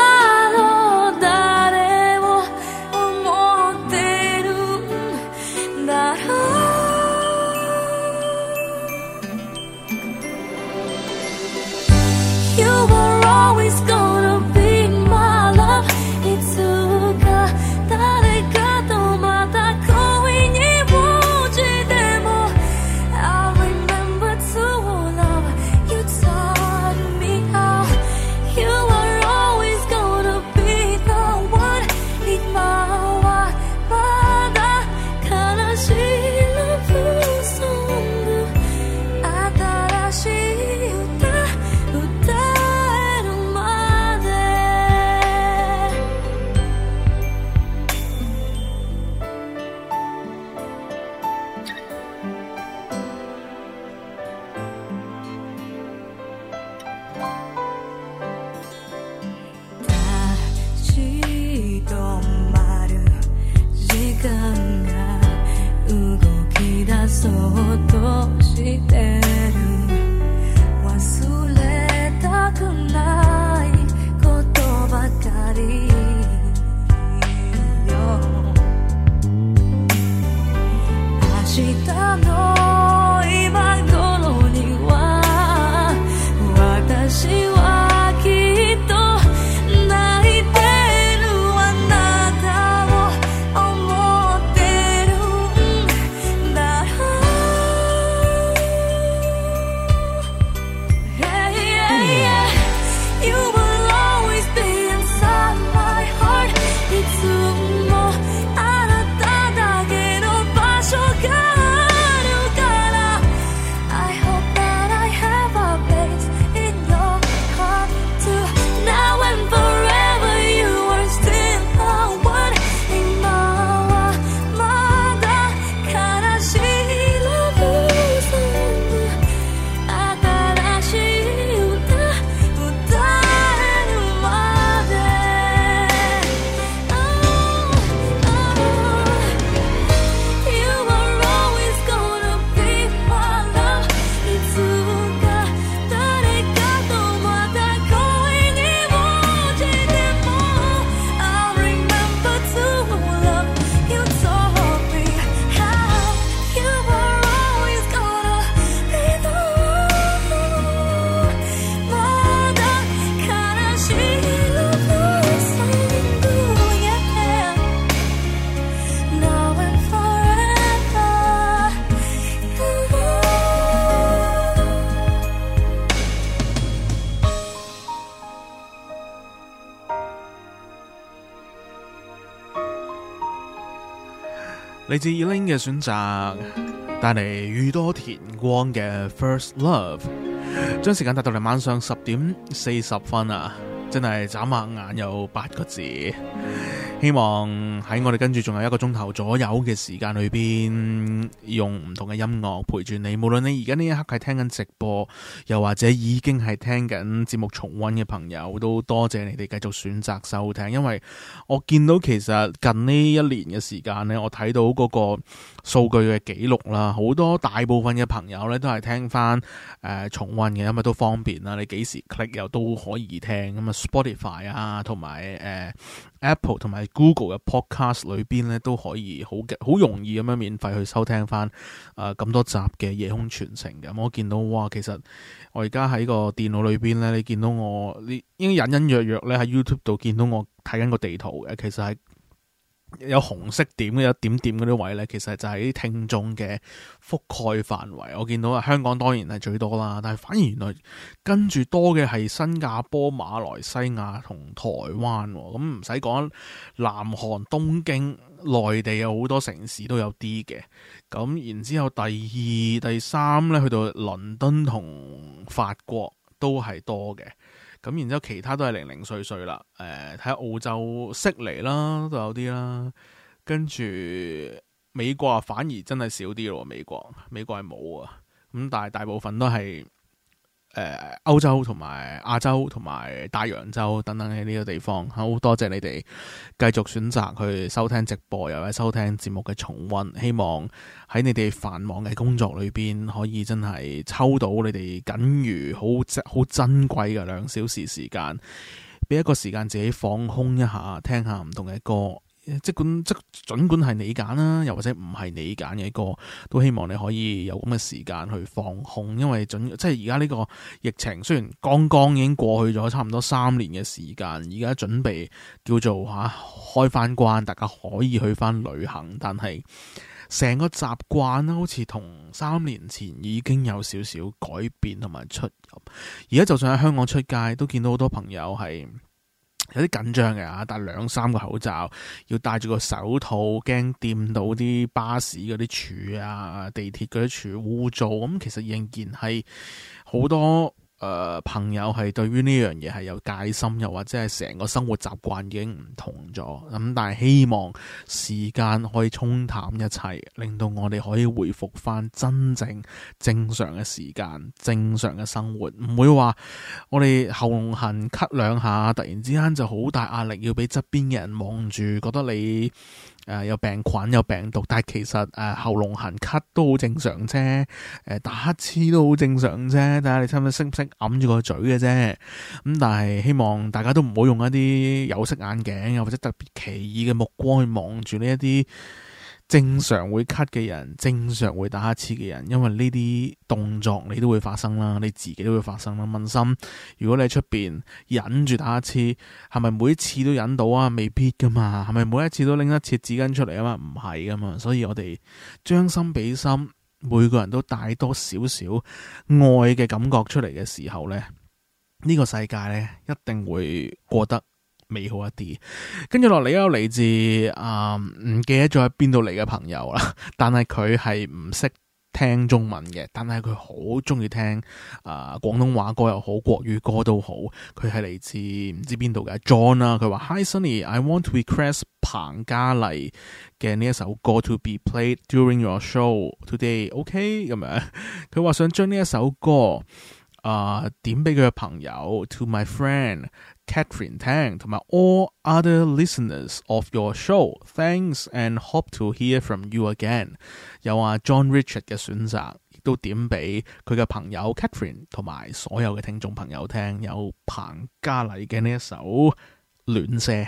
嚟自 Elaine 嘅選擇，帶嚟宇多田光嘅 First Love， 將時間帶到嚟晚上十點四十分啊！真係眨下眼有八個字。希望喺我哋跟住仲有一個鐘頭左右嘅時間裏邊，用唔同嘅音樂陪住你。無論你而家呢一刻係聽緊直播，又或者已經係聽緊節目重溫嘅朋友，都多謝你哋繼續選擇收聽。因為我見到其實近呢一年嘅時間呢，我睇到嗰個數據嘅記錄啦，好多大部分嘅朋友呢都係聽翻誒、呃、重溫嘅，因為都方便啦。你幾時 click 又都可以聽咁啊 ，Spotify 啊，同埋誒 Apple 同埋 Google 嘅 podcast 裏邊咧都可以好嘅，好容易咁樣免費去收聽翻誒咁多集嘅夜空傳情嘅。我見到哇，其實我而家喺個電腦裏邊咧，你見到我，你應該隱隱約約咧喺 YouTube 度見到我睇緊個地圖嘅，其實係有紅色點嘅，有點點嗰啲位咧，其實就係啲聽眾嘅覆蓋範圍。我見到啊，香港當然係最多啦，但係反而原來跟住多嘅係新加坡、馬來西亞同台灣。咁唔使講，南韓、東京、內地有好多城市都有啲嘅。咁然之後第二、第三咧，去到倫敦同法國都係多嘅。咁然之後其他都係零零碎碎啦，誒、呃，睇下澳洲悉尼啦都有啲啦，跟住美國啊反而真係少啲咯，美國美國係冇啊，咁但係大部分都係誒歐洲同埋亞洲同埋大洋洲等等嘅呢個地方。好多謝你哋繼續選擇去收聽直播，又或者收聽節目嘅重溫。希望喺你哋繁忙嘅工作裏邊，可以真係抽到你哋僅餘好好珍貴嘅兩小時時間，俾一個時間自己放空一下，聽下唔同嘅歌。即管即盡管係你揀啦，又或者唔係你揀嘅歌，都希望你可以有咁嘅時間去放空。因為準即係而家呢個疫情雖然剛剛已經過去咗差唔多三年嘅時間，而家準備叫做吓、啊、開翻關，大家可以去翻旅行，但係成個習慣啦，好似同三年前已經有少少改變同埋出入。而家就算喺香港出街，都見到好多朋友係有啲緊張嘅嚇，戴兩三個口罩，要戴住個手套，驚掂到啲巴士嗰啲柱啊、地鐵嗰啲柱污糟。咁其實仍然係好多誒、呃、朋友係對於呢樣嘢係有戒心，又或者係成個生活習慣已經唔同咗。咁但係希望時間可以沖淡一切，令到我哋可以回復翻真正正常嘅時間、正常嘅生活，唔會話我哋喉嚨痕咳兩下，突然之間就好大壓力，要俾側邊嘅人望住，覺得你誒、呃、有病菌有病毒。但係其實誒、呃、喉嚨痕咳都好正常啫，誒、呃、打乞嗤都好正常啫，睇下你差唔多識唔識揞住個嘴嘅啫。咁、嗯、但係希望大家都唔好用一啲有色眼鏡又或者特別奇異嘅目光去望住呢一啲正常會咳嘅人，正常會打乞嗤嘅人，因為呢啲動作你都會發生啦，你自己都會發生啦。問心，如果你喺出邊忍住打乞嗤，係咪每一次都忍到啊？未必噶嘛，係咪每一次都拎一次紙巾出嚟啊嘛？唔係噶嘛，所以我哋將心比心，每個人都帶多少少愛嘅感覺出嚟嘅時候咧，呢個世界咧一定會過得美好一啲。跟住落嚟有嚟自啊唔記得咗喺邊度嚟嘅朋友啦，但係佢係唔識聽中文嘅，但係佢好中意聽啊廣東話歌又好，國語歌都好。佢係嚟自唔知邊度嘅 John 啦，佢話 Hi Sunny，I want to request 彭嘉麗嘅呢一首歌 to be played during your show today。OK 咁樣，佢話想將呢一首歌啊、呃、點俾佢嘅朋友 to my friend Catherine Tang 同埋 all other listeners of your show. Thanks and hope to hear from you again. 有啊 John Richard 嘅選擇，亦都點俾佢嘅朋友 Catherine 同埋所有嘅聽眾朋友聽。有彭嘉麗嘅呢一首《戀些》。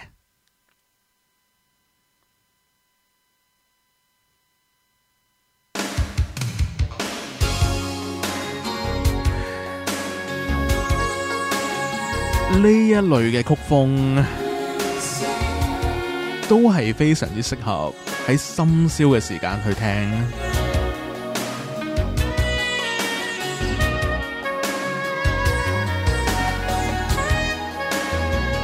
呢一類嘅曲風都係非常之適合喺深宵嘅時間去聽。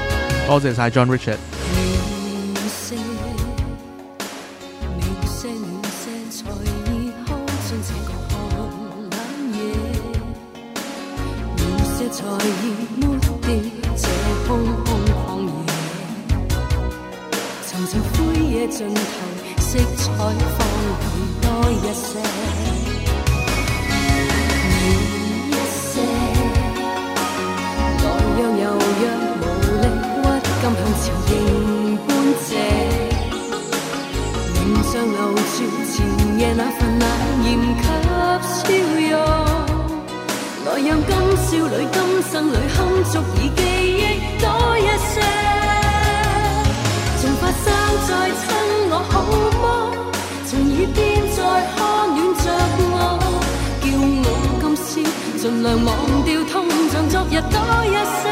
多謝晒 John Richard。 戀些，戀些才已抹掉這空空曠野，尋尋灰野盡頭，色彩放亮多一些，暖一些，來讓柔弱無力屈今向前迎半斜，臉上留住前夜那份冷豔給笑容。來讓今少女今生裏堪足以記憶多一些，從發生在親我好麼？從耳邊再看暖着我，叫我今宵盡量忘掉痛像昨日多一些，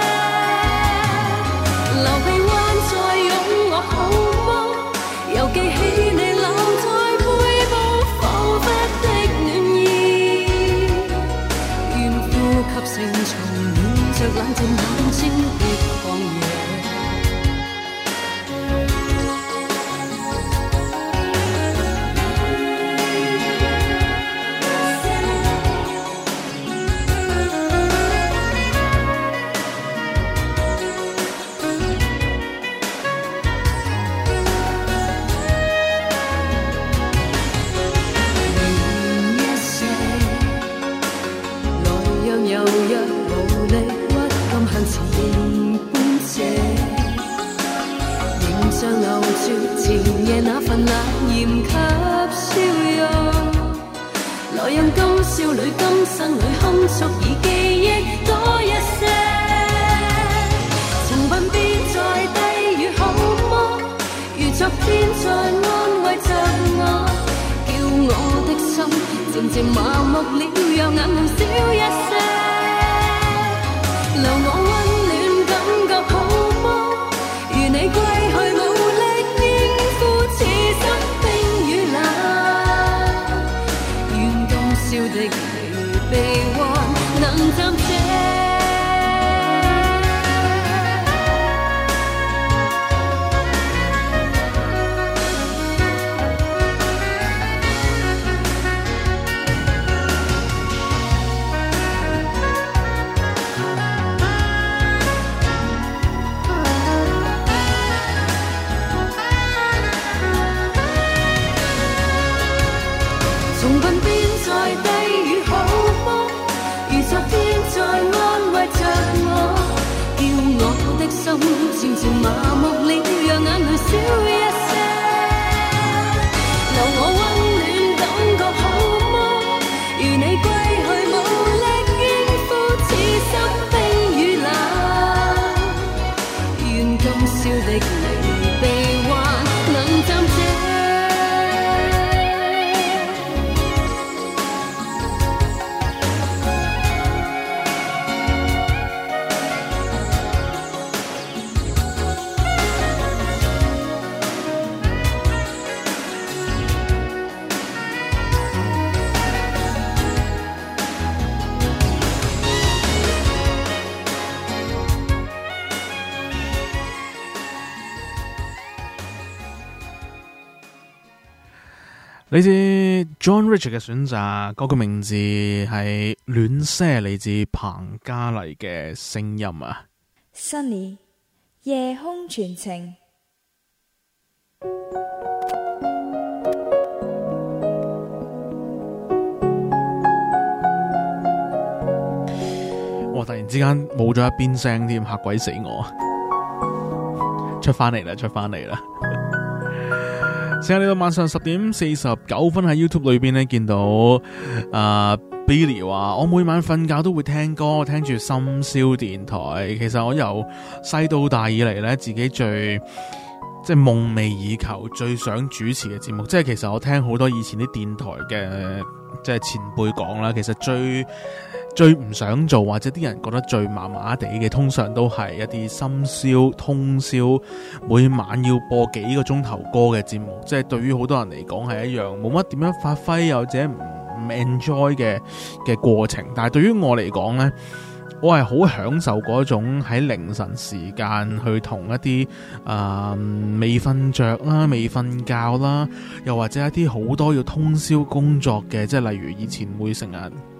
流鼻彎再擁我好麼？又記起你留在背部彷彿的暖意。吸成蟲暖着冷靜眼睛的曠野。前夜那份冷豔給笑容，來讓今少女今生裏堪足以記憶多一些，曾吻別在低語好麼？如昨天在安慰着我，叫我的心漸漸麻木了，讓眼淚少一些，留我溫暖感覺好麼？如你歸去無此生冰與冷，願今宵的離悲歡能暫借。心漸漸麻木了，讓眼淚少一些，留我溫暖感覺好麼？如你歸去無力應付此生冰與冷，願今宵的離悲歡能暫借。 嚟自 John Richard 嘅選擇，嗰個名字係暖些，嚟自彭嘉麗嘅聲音啊。 Sunny 夜空傳情。 哇！突然之間冇咗一邊聲添，嚇鬼死我！出翻嚟啦，出翻嚟啦！時間嚟到晚上十點四十九分，喺 YouTube 裏邊咧見到啊、呃、Billy 話我每晚瞓覺都會聽歌，聽住深宵電台。其實我由細到大以嚟咧，自己最即係夢寐以求、最想主持嘅節目，即係其實我聽好多以前啲電台嘅即係前輩講啦，其實最最唔想做或者啲人覺得最麻麻地嘅，通常都係一啲深宵通宵每晚要播幾個鐘頭歌嘅節目，即係對於好多人嚟講係一樣冇乜點樣發揮又或者唔唔 enjoy 嘅嘅過程。但係對於我嚟講呢，我係好享受嗰種喺凌晨時間去同一啲啊未瞓着啦、未瞓覺啦，又或者一啲好多要通宵工作嘅，即係例如以前會成日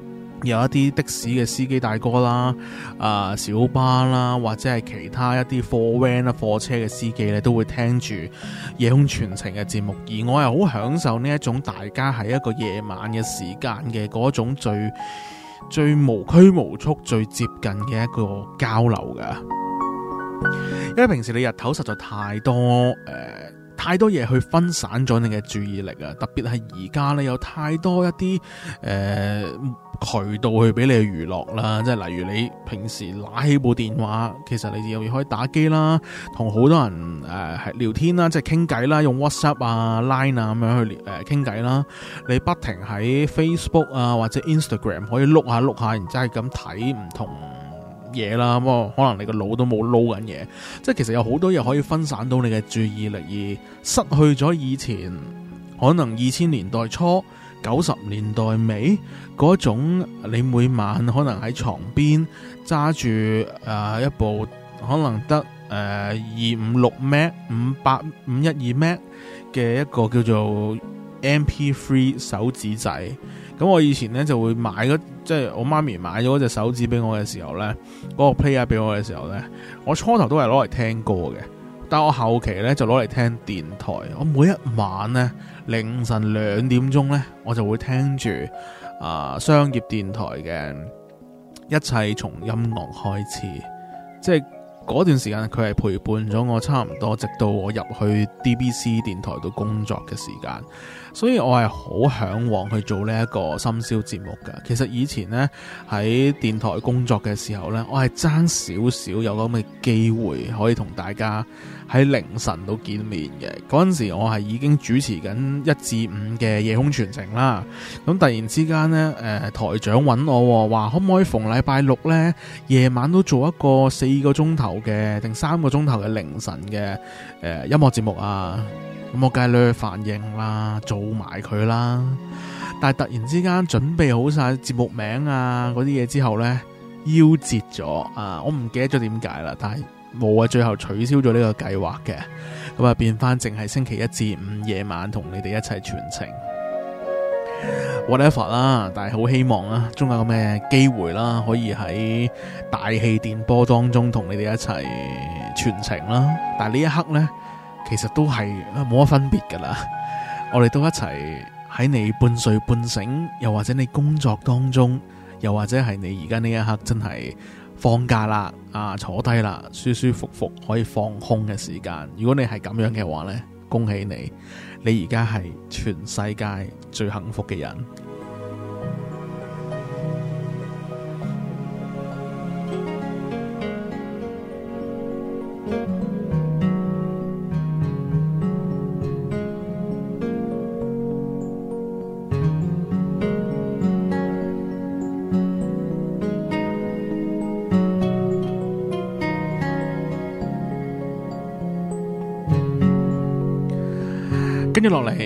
有一啲的士嘅司機大哥啦、啊小巴啦，或者係其他一啲貨 van 啦、貨車嘅司機咧，都會聽住夜空傳情嘅節目。而我係好享受呢一種大家喺一個夜晚嘅時間嘅嗰種最最無拘無束、最接近嘅一個交流㗎。因為平時你日頭實在太多誒、呃、太多嘢去分散咗你嘅注意力啊，特別係而家咧有太多一啲誒、呃渠道去俾你娛樂啦，即係例如你平時拿起部電話，其實你又可以打機啦，同好多人誒係、呃、聊天啦，即係傾偈啦，用 WhatsApp 啊、Line 啊咁樣去誒傾偈啦。你不停喺 Facebook 啊或者 Instagram 可以碌下碌下，然之後係咁睇唔同嘢啦。咁啊，可能你個腦都冇撈緊嘢，即係其實有好多嘢可以分散到你嘅注意力，而失去咗以前可能二千年代初、九十年代尾嗰種，你每晚可能喺床邊揸住誒一部可能得誒二五六 M B 五八五一二 M B 嘅一個叫做 M P 三 手指仔。咁我以前咧就會買嗰，即係我媽咪買咗嗰隻手指俾我嘅時候咧，嗰個 player 俾我嘅時候咧，我初頭都係攞嚟聽歌嘅。但我後期咧就攞嚟聽電台，我每一晚咧凌晨兩點鐘咧，我就會聽住啊、呃、商業電台嘅一切從音樂開始，即係嗰段時間佢係陪伴咗我差唔多，直到我入去 D B C 電台度工作嘅時間。所以我係好向往去做呢一個深宵節目㗎。其實以前呢，喺電台工作嘅時候呢，我係爭少少有咁嘅機會可以同大家喺凌晨度見面嘅。嗰陣時我係已經主持緊一至五嘅夜空傳情啦。咁突然之間呢，誒、呃、台長揾我話可唔可以逢禮拜六呢，夜晚都做一個四個鐘頭嘅定三個鐘頭嘅凌晨嘅誒、呃、音樂節目啊？咁我梗係咧反應啦，做埋佢啦。但係突然之間準備好晒節目名啊嗰啲嘢之後呢，夭折咗啊！我唔記得咗點解啦，但係冇啊，最後取消咗呢個計劃嘅。咁啊變翻淨係星期一至五夜晚同你哋一齊傳情 whatever 啦。但係好希望啦，終有咁嘅機會啦，可以喺大氣電波當中同你哋一齊傳情啦。但係呢一刻呢，其實都係冇乜分別噶啦，我哋都一齊喺你半睡半醒，又或者你工作當中，又或者係你而家呢一刻真係放假啦，啊坐低啦，舒舒服服可以放空嘅時間。如果你係咁樣嘅話呢，恭喜你，你而家係全世界最幸福嘅人。跟住落嚟，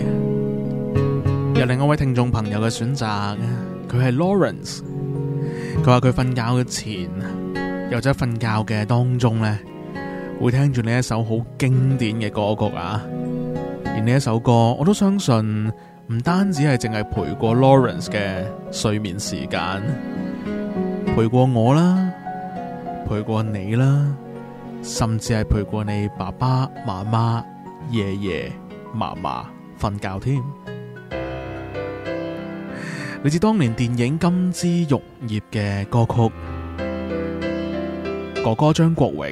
有另一位聽眾朋友嘅選擇，佢係 Lawrence。佢話佢瞓覺嘅前，又或者瞓覺嘅當中呢，會聽住呢一首好經典嘅歌曲啊。而呢一首歌，我都相信唔單止係淨係陪過 Lawrence 嘅睡眠時間，陪過我啦，陪過你啦，甚至係陪過你爸爸媽媽、爺爺嫲嫲瞓覺添。嚟自當年電影《金枝玉葉》嘅歌曲，哥哥張國榮。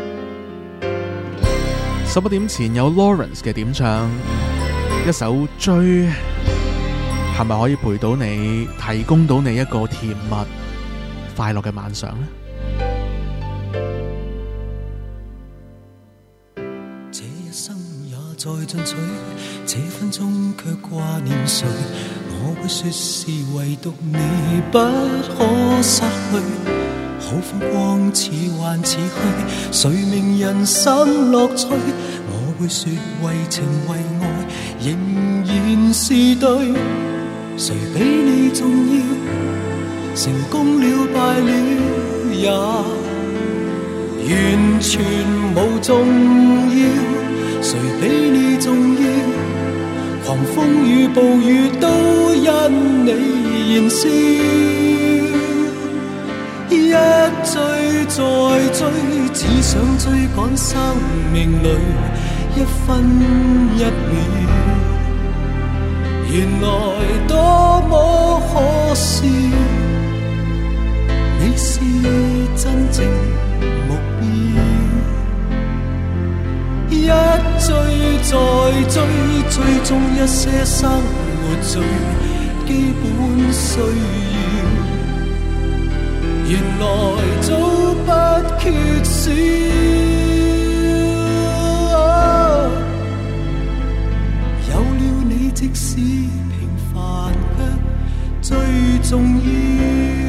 十一點前有 Lawrence 嘅點唱，一首追，係咪可以陪到你，提供到你一個甜蜜快樂嘅晚上呢？ 這一生也在進取，這分鐘卻掛念誰？我會說是唯獨你不可失去。好風光似幻似虛，誰明人生樂趣？我會說為情為愛仍然是對。誰比你重要？成功了敗了也完全無重要。誰比你重要？狂風與暴雨都因你燃燒。 再追，只想追趕生命裏一分一秒。原來多麼可笑，你是真正目標。一追再追，追蹤一些生活最基本需要，原來早不缺少。有了你，即使平凡卻最重要。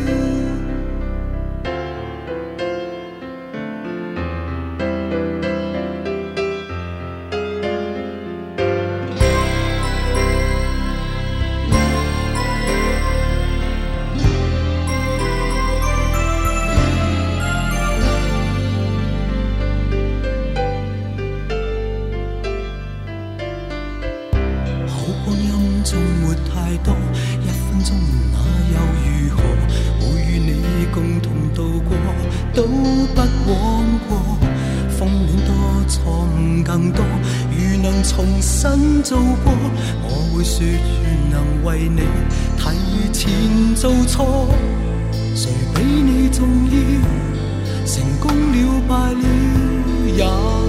做過，我會說願能為你提前做錯，誰比你重要？成功了敗了也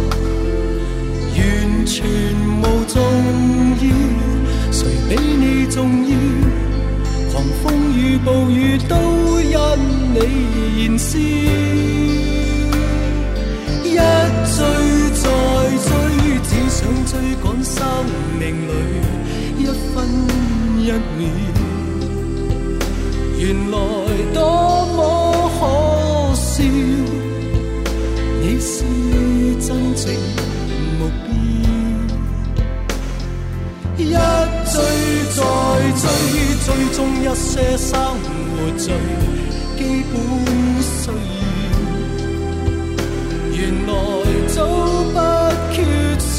完全無重要，誰比你重要？狂風與暴雨都因你燃燒，一追再追，只想追趕生命裏一分一秒，原來多麼可笑，你是真正目標。一追再追，追蹤一些生活最基本需要，原來早不缺少。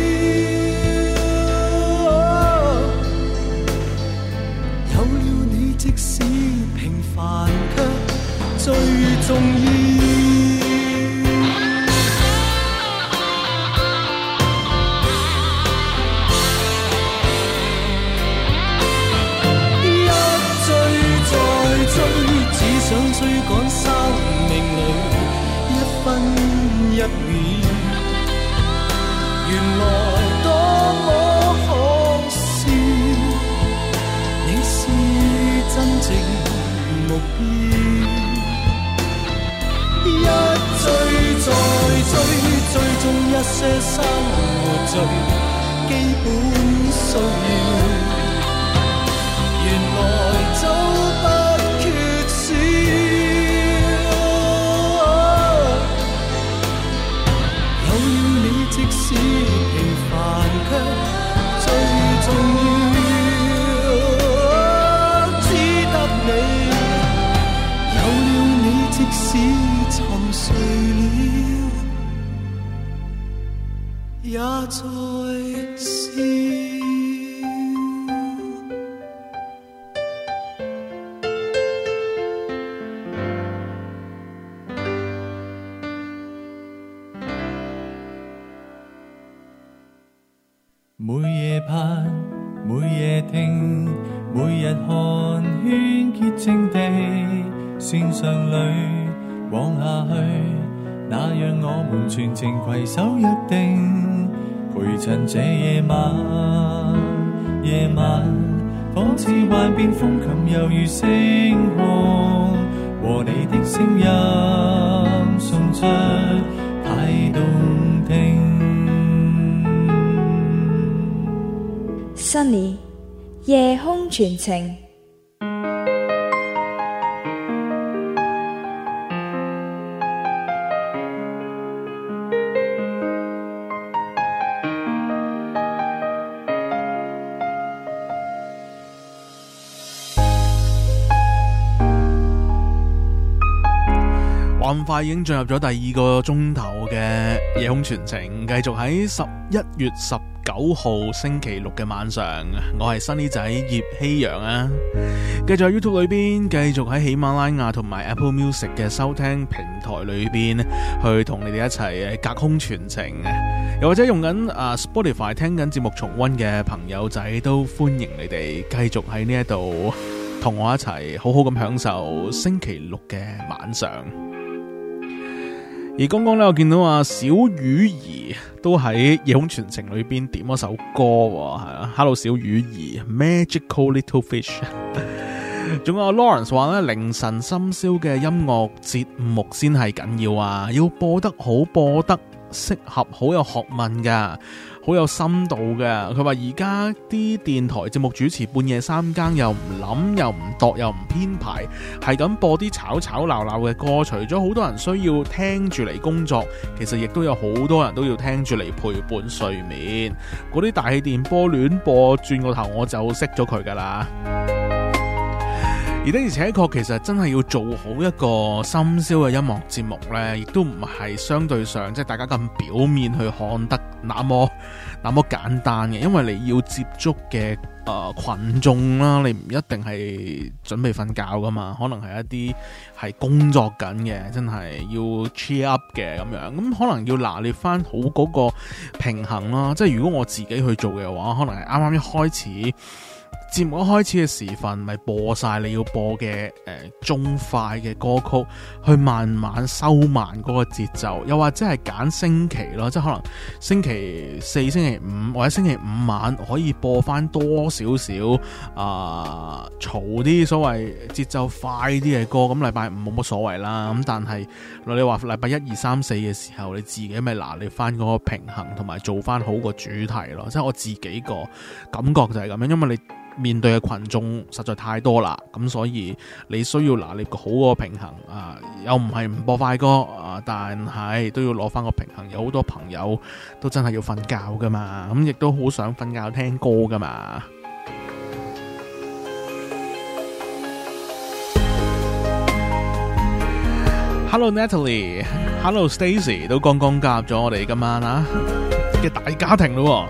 有了你，即使平凡卻最重要。想追趕生命裏一分一秒，原來多麼可笑，你是真正目標。一追再追，追蹤一些生活最基本需要，原來早不缺少。有了你，即使平凡卻最重要，只得你。有了你，即使沉睡了，也在笑。 每夜盼，每夜聽，每日看，圈潔淨地線上裏往下去，那讓我們全程攜手約定，陪襯這夜晚。夜晚仿似幻變風琴，猶如星空，和你的聲音送出太動聽。 Sunny 夜空傳情， 咁快已經進入咗第二個鐘頭嘅夜空傳情，繼續喺十一月十九號星期六嘅晚上，我係 Sunny 仔葉希陽啊，繼續喺 YouTube 裏邊，繼續喺喜馬拉雅同埋 Apple Music 嘅收聽平台裏邊，去同你哋一齊隔空傳情，又或者用緊啊 Spotify 聽緊節目重溫嘅朋友仔，都歡迎你哋繼續喺呢一度同我一齊好好咁享受星期六嘅晚上。而剛剛咧，我見到啊小魚兒都喺夜空傳情裏邊點咗首歌，係啊 ，Hello 小魚兒 ，Magical Little Fish。仲有 Lawrence 話咧，凌晨深宵嘅音樂節目先係緊要啊，要播得好，播得適合，好有學問噶，好有深度嘅。佢話而家啲電台節目主持半夜三更又唔諗又唔度又唔編排，係咁播啲吵吵鬧鬧嘅歌，除咗好多人需要聽住嚟工作，其實亦都有好多人都要聽住嚟陪伴睡眠。嗰啲大氣電波亂播，轉個頭我就熄咗佢噶啦。而的而且確，其實真係要做好一個深宵嘅音樂節目呢，亦都唔係相對上即係大家咁表面去看得那麼那麼簡單嘅，因為你要接觸嘅誒、呃、群眾啦，你唔一定係準備瞓覺噶嘛，可能係一啲係工作緊嘅，真係要 cheer up 嘅咁樣，咁可能要拿捏翻好嗰個平衡啦。即係如果我自己去做嘅話，可能係啱啱一開始。節目一開始嘅時分，咪播晒你要播嘅誒、呃、中快嘅歌曲，去慢慢收慢嗰個節奏，又或者係揀星期咯，即係可能星期四、星期五或者星期五晚可以播翻多少少啊嘈啲所謂節奏快啲嘅歌，咁禮拜五冇乜所謂啦。咁但係你話禮拜一二三四嘅時候，你自己咪拿捏翻嗰個平衡，同埋做翻好個主題咯。即係我自己個感覺就係咁樣，因為你面對嘅群眾實在太多啦，咁所以你需要拿捏個好個平衡啊，又唔係唔播快歌啊，但係都要攞翻個平衡。有好多朋友都真係要瞓覺噶嘛，咁亦都好想瞓覺聽歌噶嘛。Hello Natalie， Hello Stacy 都剛剛加入咗我哋今晚啊嘅大家庭咯。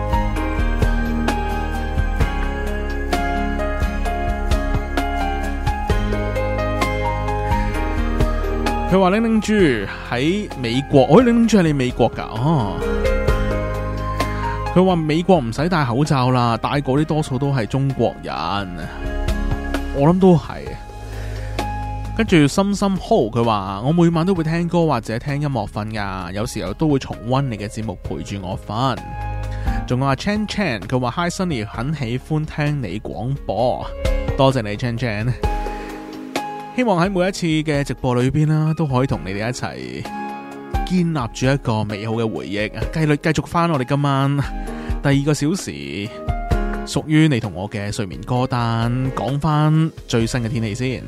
佢話玲玲豬喺美國，哦，玲玲豬係你美國噶哦。佢話美國唔使戴口罩啦，戴過啲多數都係中國人，我諗都係。跟住深深 Ho 佢話我每晚都會聽歌或者聽音樂瞓噶，有時候都會重溫你嘅節目陪住我瞓。仲有阿 Chan Chan 佢話 Hi Sunny 很喜歡聽你廣播，多謝你 Chan Chan。希望喺每一次嘅直播裏邊啦，都可以同你哋一齊建立住一個美好嘅回憶。繼續繼續翻我哋今晚第二個小時，屬於你同我嘅睡眠歌單，講翻最新嘅天氣先。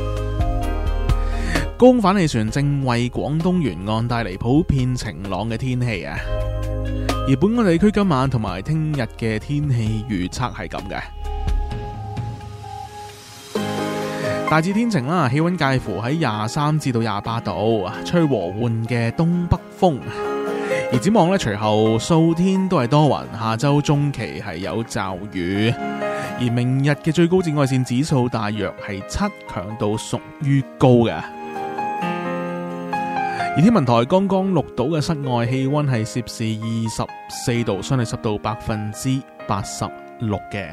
高空反氣旋正為廣東沿岸帶嚟普遍晴朗嘅天氣啊，而本港地區今晚同埋聽日嘅天氣預測係咁嘅。大致天晴啦，氣溫介乎喺廿三至到廿八度，吹和緩嘅東北風。而展望咧，隨後數天都係多雲，下周中期係有驟雨。而明日嘅最高紫外線指數大約係七，強度屬於高嘅。而天文台剛剛錄到嘅室外氣溫係攝氏二十四度，相對濕度百分之八十六嘅。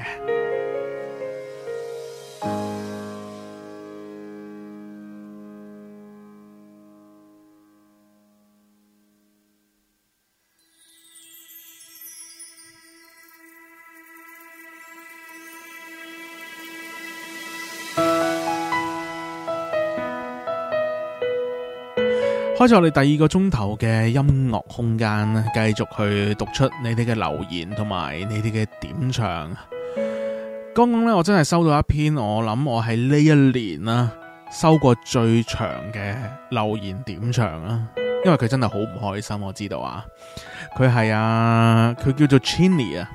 開始我哋第二個鐘頭嘅音樂空間，繼續去讀出你哋嘅留言同埋你哋嘅點唱。剛剛咧，我真係收到一篇我諗我喺呢一年啦收過最長嘅留言點唱啊，因為佢真係好唔開心，我知道啊。佢係啊，佢叫做 Chinny 啊。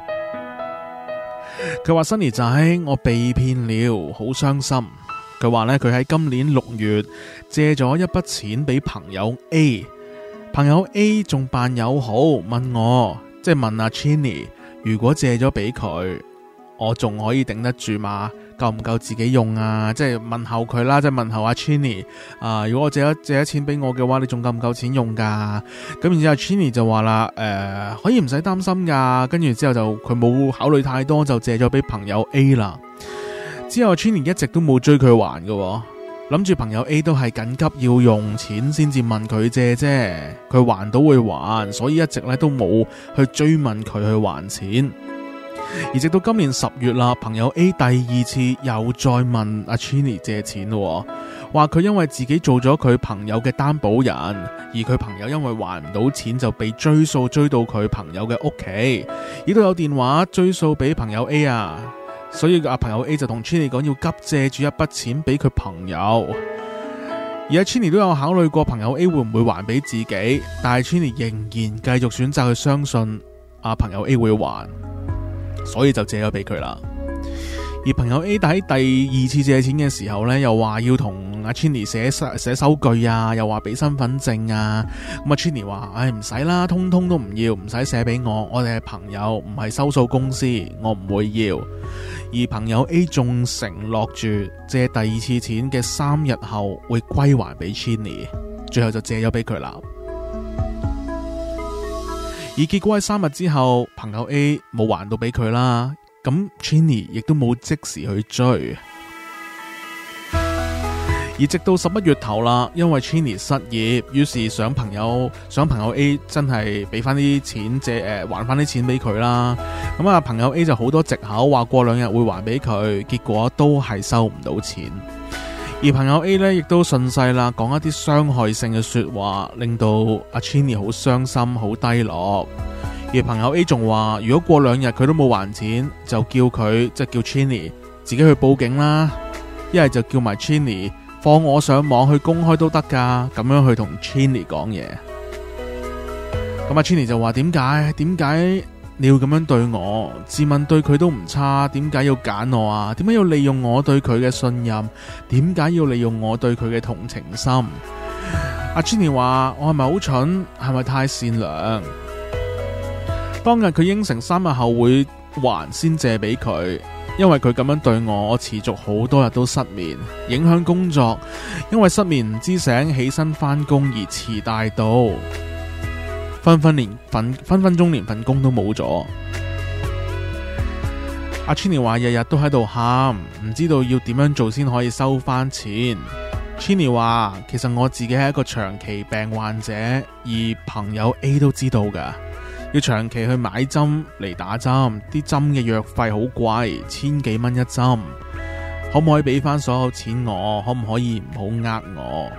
佢話 Sunny 仔，我被騙了，好傷心。佢話咧，佢喺今年六月借咗一筆錢俾朋友 A， 朋友 A 仲扮友好，問我即係問阿 Chinny， 如果借咗俾佢，我仲可以頂得住嘛？夠唔夠自己用啊？即係問候佢啦，即係問候阿 Chinny 啊，如果我借咗借咗錢俾我嘅話，你仲夠唔夠錢用噶？咁然之後 Chinny 就話啦，誒、呃，可以唔使擔心噶。跟住之後就佢冇考慮太多，就借咗俾朋友 A 啦。之後 Chinny 一直都冇追佢還嘅，諗住朋友 A 都係緊急要用錢先至問佢借啫，佢還到會還，所以一直咧都冇去追問佢去還錢。而直到今年十月啦，朋友 A 第二次又再問阿 Chinny 借錢咯，話佢因為自己做咗佢朋友嘅擔保人，而佢朋友因為還唔到錢就被追數追到佢朋友嘅屋企，亦都有電話追數俾朋友 A 啊，所以阿朋友 A 就同 Chinny 講要急借住一筆錢俾佢朋友，而阿 Chinny 都有考慮過朋友 A 會唔會還俾自己，但係 Chinny 仍然繼續選擇去相信阿朋友 A 會還。所以就借咗俾佢啦。而朋友 A 喺第二次借錢嘅時候呢，又話要同阿 Chinny 寫寫收據啊，又話俾身份證啊。咁阿 Chinny 話：唉，唔使啦，通通都唔要，唔使寫俾我，我哋係朋友，唔係收數公司，我唔會要。而朋友 A 仲承諾住借第二次錢嘅三日後會歸還俾 Chinny， 最後就借咗俾佢啦。而結果喺三日之後，朋友 A 冇還到俾佢啦，咁 Chinny 亦都冇即時去追。而直到十一月頭啦，因為 Chinny 失業，於是想朋友想朋友 A 真係俾翻啲錢借誒、呃、還翻啲錢俾佢啦。咁啊，朋友 A 就好多藉口話過兩日會還俾佢，結果都係收唔到錢。而朋友 A 呢，亦都順勢啦，講一啲傷害性嘅說話，令到阿 Chinny 好傷心、好低落。而朋友 A 仲話，如果過兩日佢都冇還錢，就叫佢即係叫 Chinny 自己去報警啦，一係就叫埋 Chinny 放我上網去公開都得噶，咁樣去同 Chinny 講嘢。咁阿 Chinny 就話：點解？點解你要咁樣對我？自問對佢都唔差，點解要揀我啊？點解要利用我對佢嘅信任？點解要利用我對佢嘅同情心？阿 Chinny 話：我係咪好蠢？係咪太善良？當日佢應承三日後會還先借俾佢，因為佢咁樣對我，我持續好多日都失眠，影響工作。因為失眠唔知醒，起身返工而遲大到。分分連份分分鐘連份工都冇咗。阿 Chinny 話日日都喺度喊，唔知道要點樣做先可以收翻錢。Chinny 話其實我自己係一個長期病患者，而朋友 A 都知道噶，要長期去買針嚟打針，啲針嘅藥費好貴，千幾蚊一針，可唔可以俾翻所有錢我？可唔可以唔好呃我？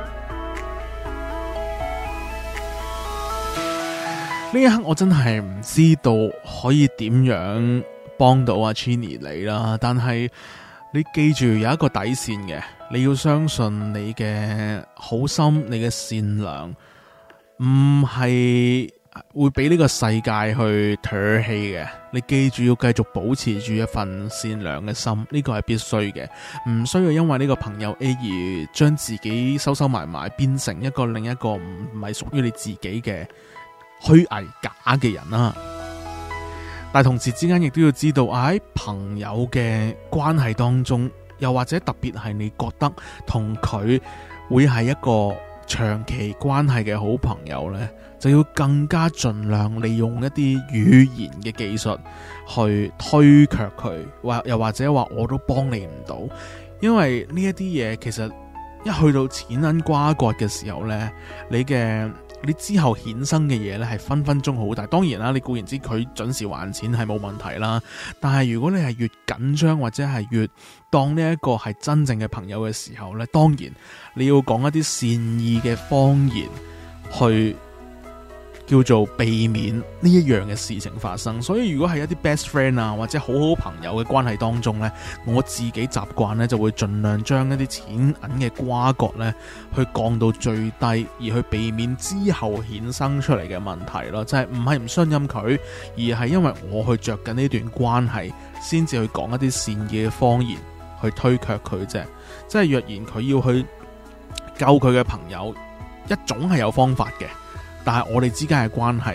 呢一刻我真係唔知道可以點樣幫到阿 Chinny 你啦，但係你記住有一個底線嘅，你要相信你嘅好心，你嘅善良，唔係會俾呢個世界去唾棄嘅。你記住要繼續保持住一份善良嘅心，呢個係必須嘅，唔需要因為呢個朋友 A 而將自己收收埋埋，變成一個另一個唔唔係屬於你自己嘅虛偽假嘅人啦，但係同時之間亦都要知道喺朋友嘅關係當中，又或者特別係你覺得同佢會係一個長期關係嘅好朋友呢，就要更加盡量利用一啲語言嘅技術去推卻佢，或又或者話我都幫你唔到，因為呢一啲嘢其實一去到錢銀瓜葛嘅時候呢，你嘅你之後衍生嘅嘢咧係分分鐘好大。當然啦，你固然知佢準時還錢係冇問題啦，但係如果你係越緊張或者係越當呢一個係真正嘅朋友嘅時候咧，當然你要講一啲善意嘅謊言去叫做避免呢一樣嘅事情發生。所以如果係一啲 best friend 啊或者好好朋友嘅關係當中呢，我自己習慣呢就會盡量將一啲錢銀嘅瓜葛呢去降到最低，而去避免之後衍生出嚟嘅問題咯。就係唔係唔信任佢，而係因為我去着緊呢段關係，先至去講一啲善意嘅謊言去推卻佢啫。即係若然佢要去救佢嘅朋友，一種係有方法嘅。但係我哋之間嘅關係係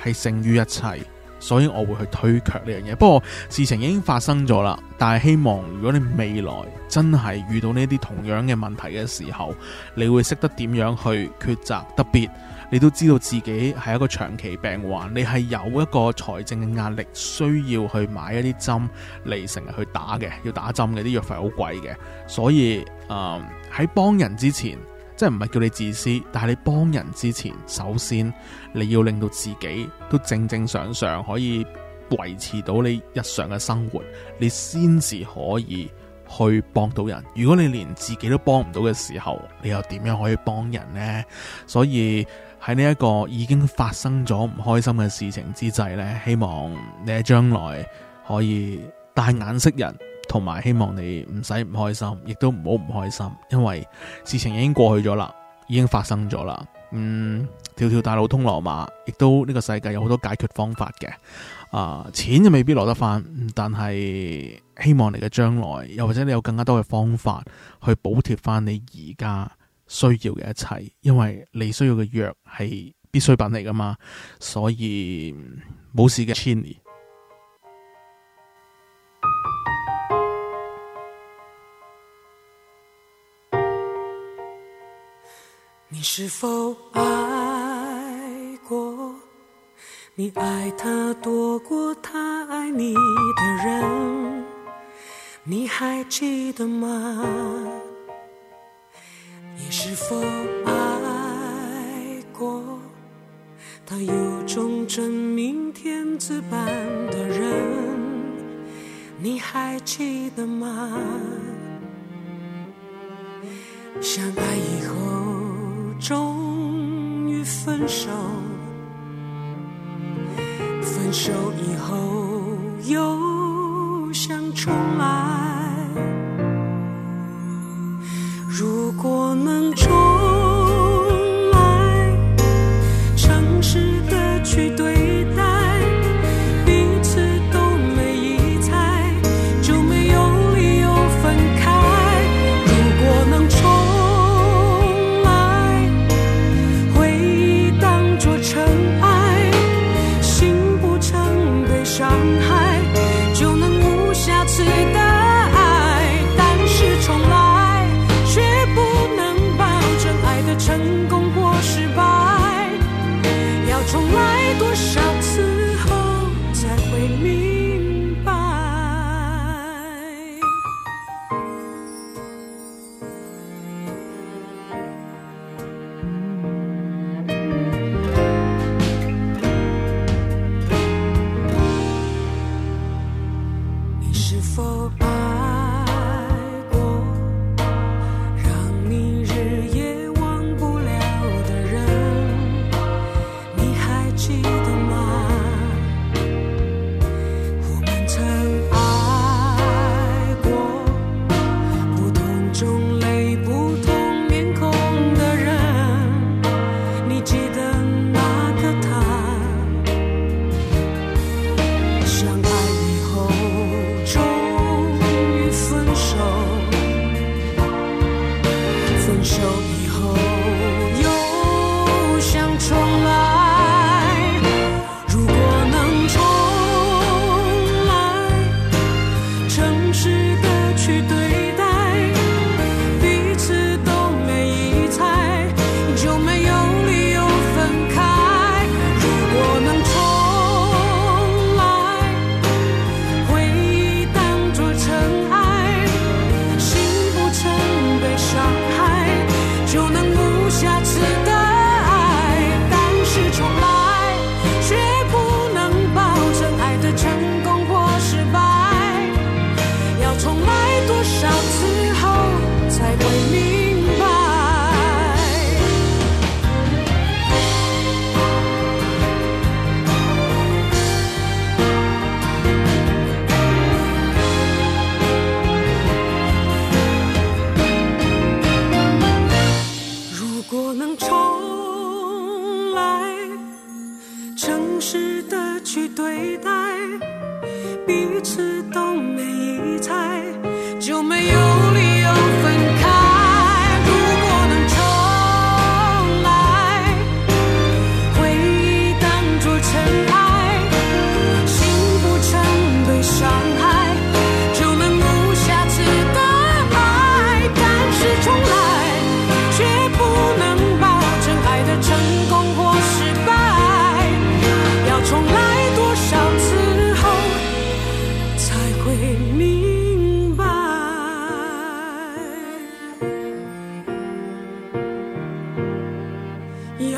係勝於一切，所以我會去推卻呢樣嘢。不過事情已經發生咗啦，但係希望如果你未來真係遇到呢啲同樣嘅問題嘅時候，你會識得點樣去抉擇，特別你都知道自己係一個長期病患，你係有一個財政嘅壓力，需要去買一啲針嚟成日去打嘅，要打針嘅，啲藥費好貴嘅，所以誒喺幫人之前，即係唔係叫你自私，但係你幫人之前，首先你要令到自己都正正常常可以維持到你日常嘅生活，你先至可以去幫到人。如果你連自己都幫唔到嘅時候，你又點樣可以幫人呢？所以喺呢一個已經發生咗唔開心嘅事情之際呢，希望你喺將來可以帶眼識人，同埋希望你唔使唔開心，亦都唔好唔開心，因為事情已經過去咗啦，已經發生咗啦。嗯，條條大路通羅馬，亦都呢個世界有好多解決方法嘅。啊、呃，錢就未必攞得翻，但係希望你嘅將來，又或者你有更加多嘅方法去補貼翻你而家需要嘅一切，因為你需要嘅藥係必需品嚟噶嘛，所以冇事嘅 Chinny。 你是否愛過？你愛他多過他愛你的人，你還記得嗎？你是否愛過他有種真命天子般的人，你還記得嗎？相愛以後終於分手，分手以後又想重來，如果能重來，誠實的去對待，彼此都沒疑猜，就沒有理由分開。如果能重來，回憶當作塵埃，心不曾被傷害，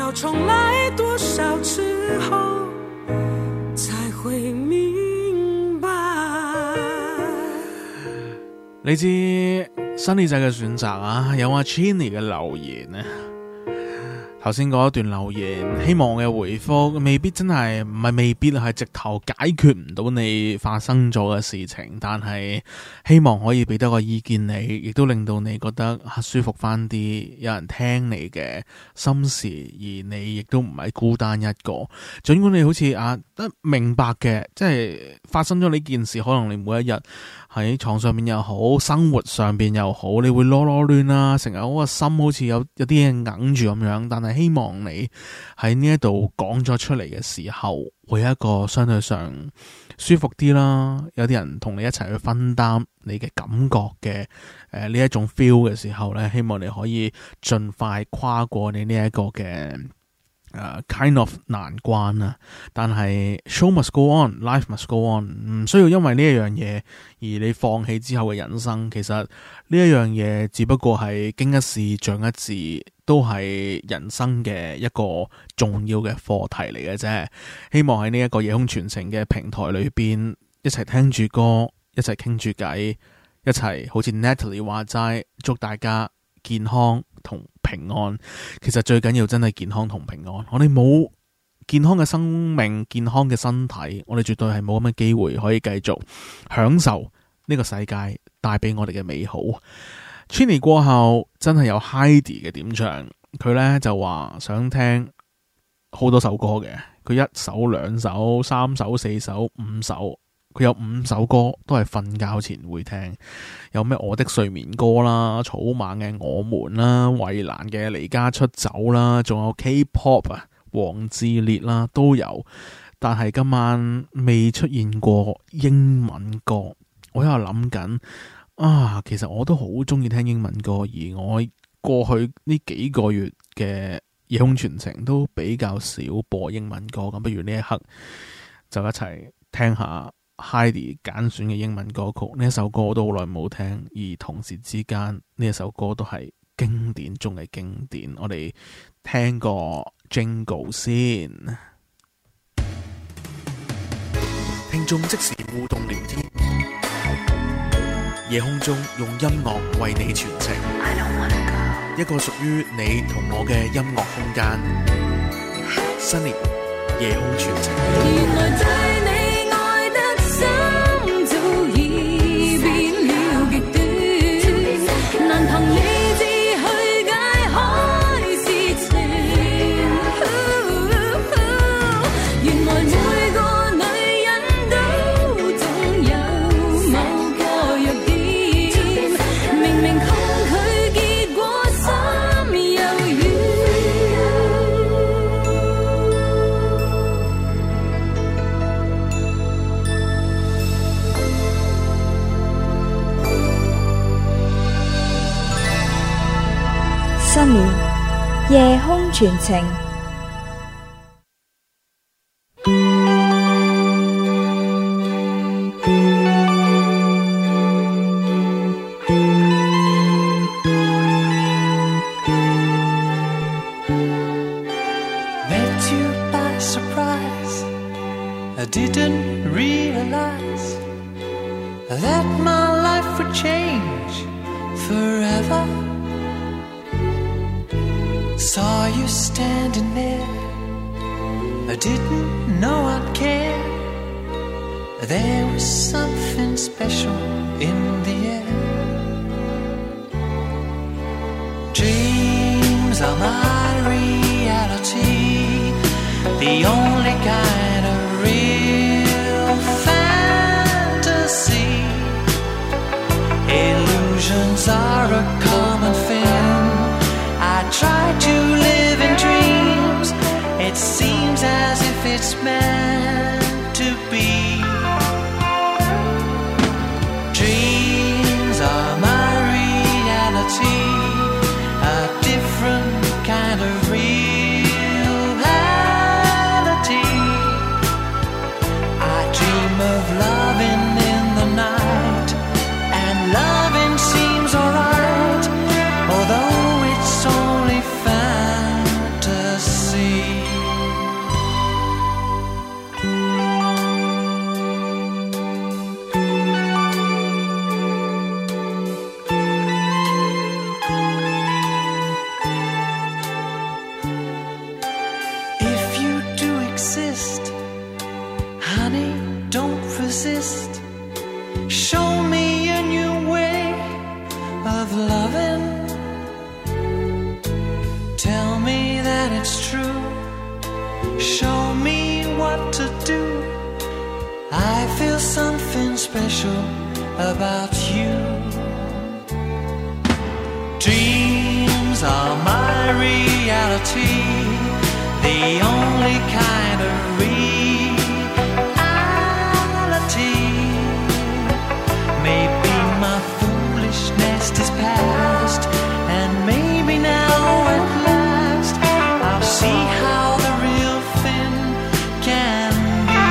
要重来多少次后才会明白。 你知新呢仔嘅選擇啊，有阿 Chinny 嘅留言呢。頭先嗰一段留言，希望我嘅回覆未必真係唔係未必係直頭解決唔到你發生咗嘅事情，但係希望可以俾多個意見你，亦都令到你覺得舒服翻啲，有人聽你嘅心事，而你亦都唔係孤單一個。盡管你好似啊得明白嘅，即係發生咗呢件事，可能你每一日喺床上面又好，生活上邊又好，你會囉囉攣啦，成日嗰個心好似有有啲嘢硬住咁樣，但係希望你喺呢一度講咗出嚟嘅時候，會有一個相對上舒服啲啦，有啲人同你一齊去分擔你嘅感覺嘅誒呢一種 feel 嘅時候咧，希望你可以盡快跨過你呢一個嘅Uh, kind of 難關啊，但係 show must go on, life must go on， 唔需要因為呢一樣嘢而你放棄之後嘅人生。其實呢一樣嘢只不過係經一事長一智，都係人生嘅一個重要嘅課題嚟嘅啫。希望喺呢一個夜空傳情嘅平台裏邊，一齊聽住歌，一齊傾住偈，一齊好似 Natalie 話齋，祝大家健康同平安。其實最緊要真係健康同平安。我哋冇健康嘅生命，健康嘅身體，我哋絕對係冇咁嘅機會可以繼續享受呢個世界帶俾我哋嘅美好。Chinny 過後真係有 Heidi 嘅點唱，佢呢就話想聽好多首歌嘅，佢一首兩首三首四首五首，佢有五首歌都係瞓覺前會聽，有咩我的睡眠歌啦、草蜢嘅我們啦、衛蘭嘅離家出走啦，仲有 K-pop 啊、黃致列啦都有，但係今晚未出現過英文歌。我喺度諗緊啊，其實我都好中意聽英文歌，而我過去呢幾個月嘅夜空傳情都比較少播英文歌，咁不如呢一刻就一齊聽下Heidi 揀選嘅英文歌曲。呢一首歌我都好耐冇聽，而同時之間呢一首歌都係經典中嘅經典。我哋聽個 Jingle 先。聽眾即時互動聊天，夜空中用音樂為你傳情，一個屬於你同我嘅音樂空間。Sunny 夜空傳情。 原來對你愛得深早已變了極端，難憑理智去解開事情。原來每個女人都總有某個弱點，明明抗拒結果心又軟。 Sunny 夜空傳情。 Met you by surprise. I didn't realize that my life would change forever. Saw you standing there, I didn't know I'd care. There was something special in the air. Dreams are my reality, the only kind of real fantasy. Illusions are a common thing. I try to live in dreams. It seems as if it's meant to be. Dreams are my reality, a different kind of reality. I dream of loving in the night, and loving seems alright, although it's only fantasy. special about you. Dreams are my reality, the only kind of reality. Maybe my foolishness is past, and maybe now at last I'll see how the real thing can be.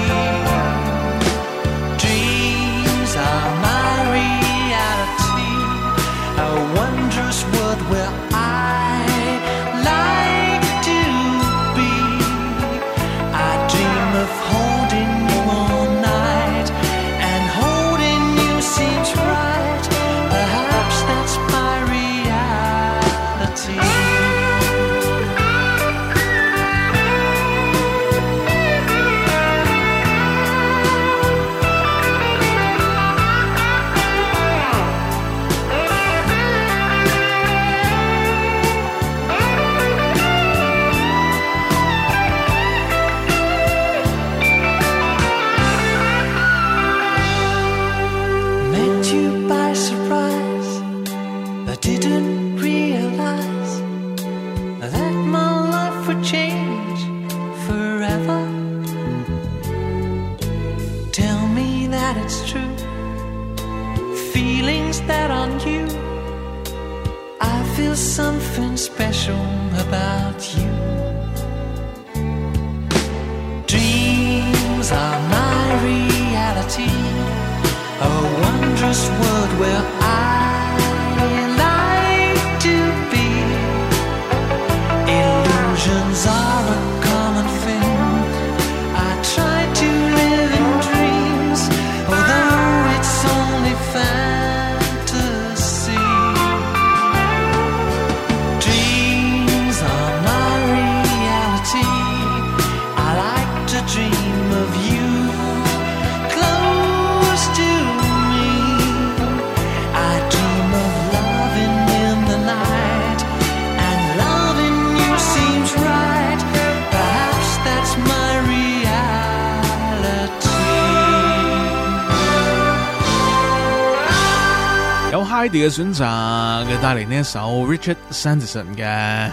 Dreams are my reality, a wondrous world where I like to be. I dream of holding you all night, and holding you seems right. Perhaps that's my reality. Met you by surprise, but didn't realize that my life would change forever. Tell me that it's true, feelings that are new. I feel something special about you. Dreams are my reality, a wondrous world where I like to be. Illusions are a common thing. I try to live in dreams, although it's only fantasy. Dreams are my reality. I like to dream of you close to me. I dream of loving in the night, and loving you seems right. Perhaps that's my reality. 有 Heidi 嘅選擇，佢帶嚟呢一首 Richard Sanderson 嘅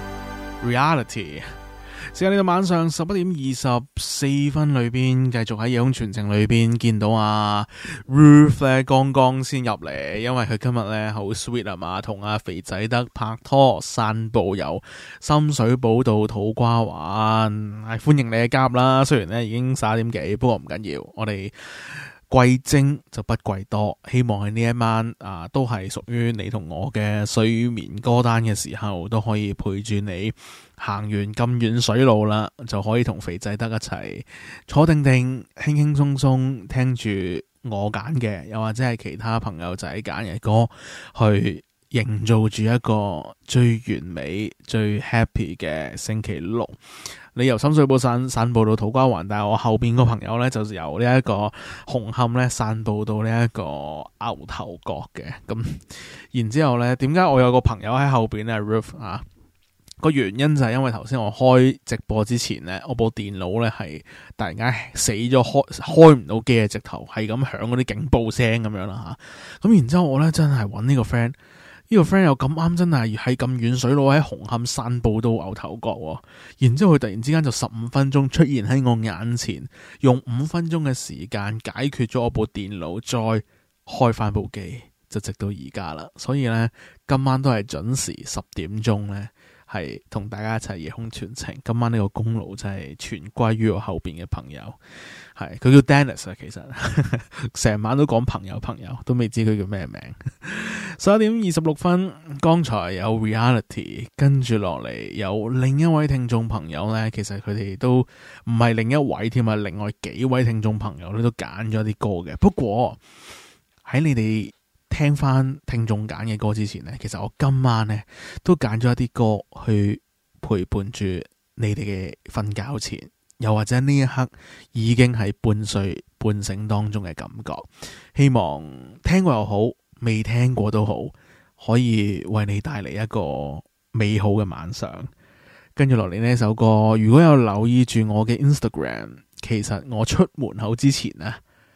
Reality。時間嚟到晚上十一點二十四分裏邊，繼續喺夜空傳情裏邊見到阿 Ruth 咧，剛剛先入嚟，因為佢今日咧好 sweet 啊嘛，同阿肥仔德拍拖散步遊深水埗到土瓜灣，係歡迎你嘅加入啦。雖然咧已經十一點幾，不過唔緊要，我哋貴精就不貴多，希望喺呢一晚啊，都係屬於你同我嘅睡眠歌單嘅時候，都可以陪住你行完咁遠水路啦，就可以同肥仔德一齊坐定定，輕輕鬆鬆聽住我揀嘅，又或者係其他朋友仔揀嘅歌，去營造住一個最完美、最 happy 嘅星期六。你由深水埗散散步到土瓜灣，但係我後邊個朋友咧就由呢一個紅磡咧散步到呢一個牛頭角嘅。咁然之後咧，點解我有個朋友喺後邊咧 Ruth 啊？個原因就係因為頭先我開直播之前咧，我部電腦咧係突然間死咗，開開唔到機嘅，直頭係咁響嗰啲警報聲咁樣啦吓。咁然之後我咧真係揾呢個 friend。呢個 friend 又咁啱，真係喺咁遠水路喺紅磡散步到牛頭角喎，然之後佢突然之間就十五分鐘出現喺我眼前，用五分鐘嘅時間解決咗我部電腦，再開翻部機，就直到而家啦。所以呢，今晚都係準時十點鐘呢，係同大家一齊夜空傳情。今晚呢個功勞真係全歸於我後邊嘅朋友，係佢叫 Dennis 啊，其實成晚都講朋友朋友，都未知佢叫咩名。十一點二十六分，剛才有 Reality， 跟住落嚟有另一位聽眾朋友呢，其實佢哋都唔係另一位添啊，另外幾位聽眾朋友咧都揀咗啲歌嘅。不過喺你哋聽翻聽眾揀嘅歌之前呢，其實我今晚呢都揀咗一啲歌去陪伴住你哋嘅瞓覺前，又或者呢一刻已經係半睡半醒當中嘅感覺。希望聽過又好，未聽過都好，可以為你帶嚟一個美好嘅晚上。跟住落嚟呢首歌，如果有留意住我嘅 Instagram， 其實我出門口之前呢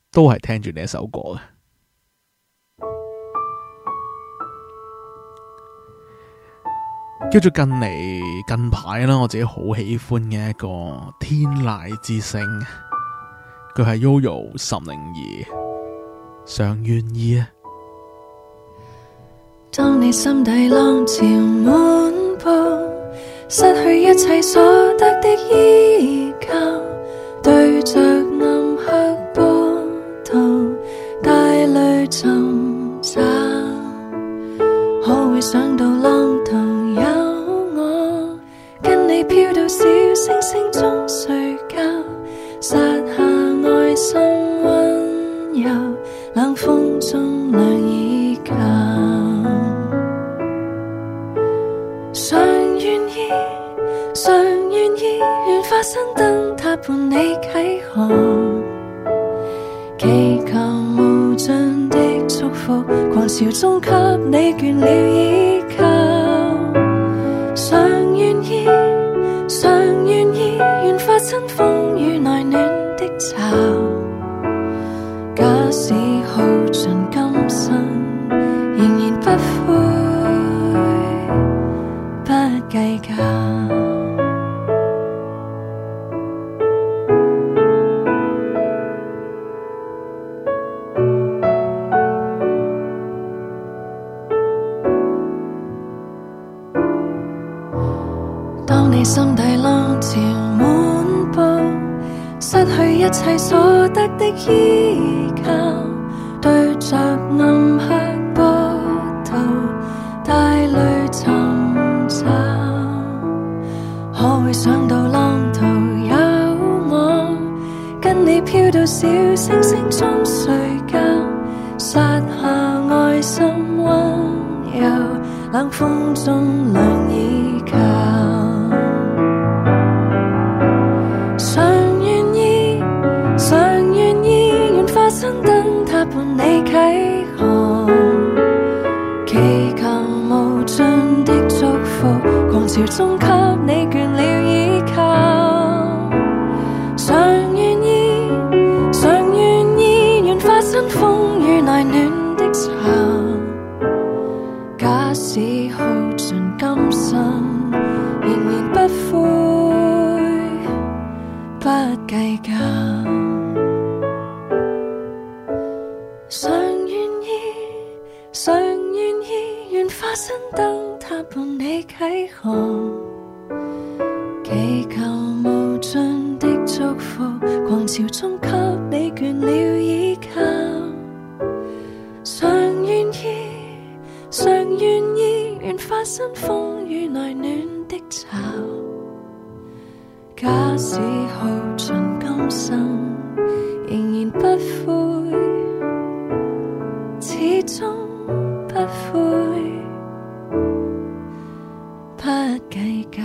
都係聽住呢一首歌嘅。叫做近嚟近排啦，我自己好喜歡嘅一個天籟之聲，佢係 Yoyo 岑寧兒，常願意啊。 當你心底浪潮滿布，失去一切所得的依靠，對着暗黑波濤帶淚尋找，可會想到浪頭有我，跟你飄到小星星中睡覺，撒下愛心溫柔，冷風中亮依靠。常願意，常願意，願化身燈塔伴你啟航，祈求無盡的祝福，狂潮中給你倦了依靠。常願意，常願意，願化身風雨內暖的巢，假使耗盡今生，仍然不悔不計較。當你心底浪潮滿布，失去一切所得的依靠，對着暗黑波濤帶淚尋找，可會想到浪頭有我，跟你飄到小星星中睡覺，撒下愛心溫柔，冷風中亮依靠。常願意，常願意，願化身燈塔伴你啟航，祈求無盡的祝福，狂潮中給你倦了依靠。常願意，常願意，願化身風雨內暖的巢，假使耗盡今生，仍然不悔不計較。常願意，常願意，願化身燈塔伴你啟航，祈求無盡的祝福，狂潮中給你倦了依靠。常願意，常願意，願化身風雨內暖的巢，假使耗盡今生，仍然不悔，始終不悔不計較。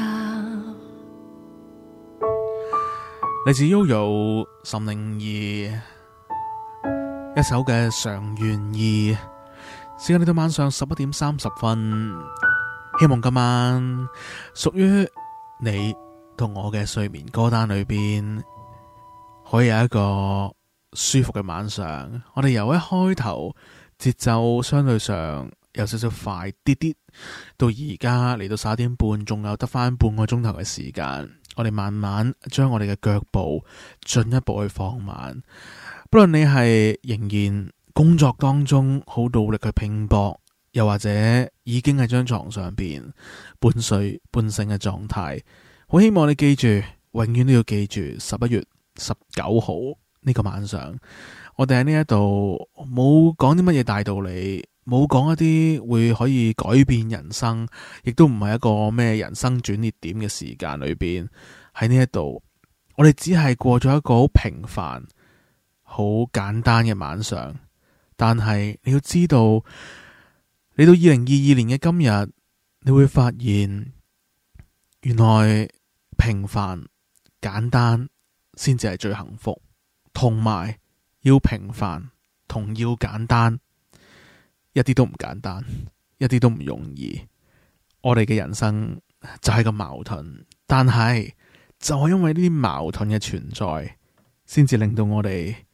嚟自 Yoyo 岑寧兒一首嘅《常願意》，時間嚟到晚上十一點三十分，希望今晚屬於你同我嘅睡眠歌單裏邊，可以有一個舒服嘅晚上。我哋由一開頭節奏相對上有少少快啲啲，到而家嚟到十一點半，仲有得翻半個鐘頭嘅時間，我哋慢慢將我哋嘅腳步進一步去放慢。不論你係仍然工作當中好努力去拼搏，又或者已經喺張床上邊半睡半醒嘅狀態，好希望你記住，永遠都要記住十一月十九號呢個晚上，我哋喺呢一度冇講啲乜嘢大道理，冇講一啲會可以改變人生，亦都唔係一個咩人生轉捩點嘅時間裏邊，喺呢一度我哋只係過咗一個好平凡好簡單嘅晚上。但係你要知道，嚟到二零二二年嘅今日，你會發現原來平凡簡單先至係最幸福，同埋要平凡同要簡單一啲都唔簡單，一啲都唔容易。我哋嘅人生就係咁矛盾，但係就係因為呢啲矛盾嘅存在，先至令到我哋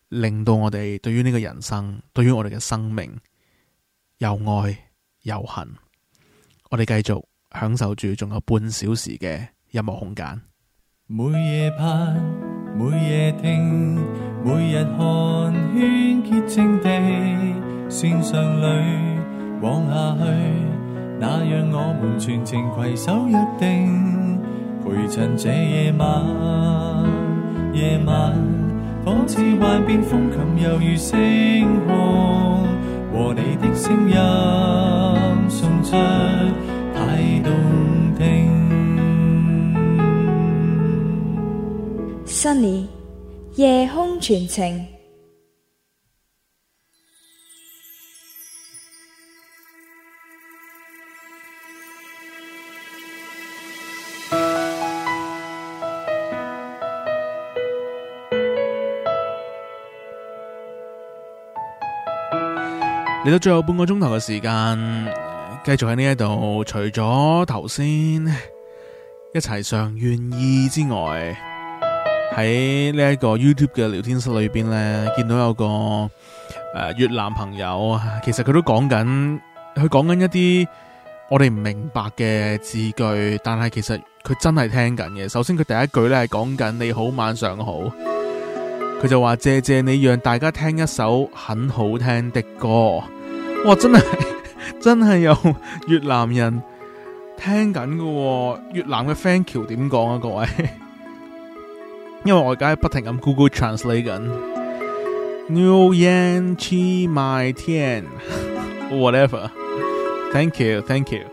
令到我哋對於呢個人生，對於我哋嘅生命又愛又恨。我哋繼續享受住仲有半小時嘅音樂空間。 每夜盼，每夜聽，每日看，圈潔淨地線上裏往下去，那讓我們全程攜手約定，陪襯這夜晚。夜晚仿似幻變風琴，猶如星空，和你的聲音送出太動聽。 Sunny 夜空傳情。 嚟到最後半個鐘頭嘅時間，繼續喺呢一度，除咗頭先一齊上願意之外，喺呢一個 YouTube 嘅聊天室裏邊呢，見到有個誒、呃、越南朋友，其實佢都講緊，佢講緊一啲我哋唔明白嘅字句，但係其實佢真係聽緊嘅。首先佢第一句呢係講緊你好晚上好，佢就話謝謝你讓大家聽一首很好聽的歌。哇，真係真係有越南人聽緊嘅，越南嘅 thank you 點講啊各位？因為我而家不停咁 Google Translate 緊 New Yan Chi My Tian whatever thank you thank you。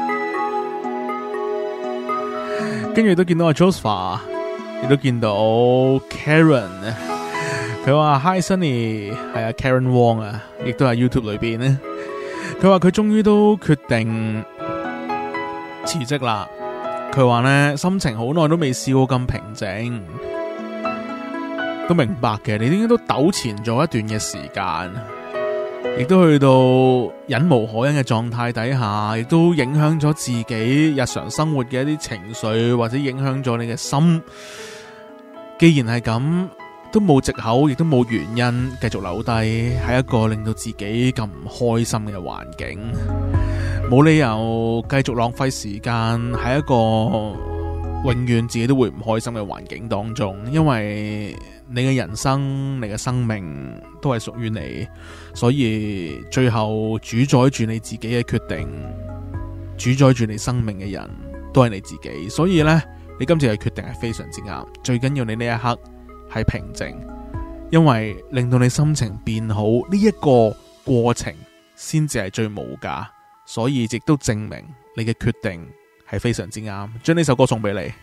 跟住都見到阿 Joseph， 亦都見到 Karen， 佢話 Hi Sunny， 係啊 Karen Wong 啊，亦都喺 YouTube 裏邊咧。佢話佢終於都決定辭職啦。佢話呢，心情好耐都未試過咁平靜，都明白嘅。你應該都糾纏咗一段嘅時間，亦都去到忍無可忍嘅狀態底下，亦都影響咗自己日常生活嘅一啲情緒，或者影響咗你嘅心。既然係咁，都冇藉口，亦都冇原因繼續留低喺一個令到自己咁唔開心嘅環境。冇理由繼續浪費時間喺一個永遠自己都會唔開心嘅環境當中，因為你嘅人生、你嘅生命都係屬於你，所以最後主宰住你自己嘅決定、主宰住你生命嘅人都係你自己。所以呢，你今次嘅決定係非常之啱。最緊要你呢一刻係平靜，因為令到你心情變好呢一個過程先至係最無價。所以亦都證明你嘅決定係非常之啱。將呢首歌送俾你。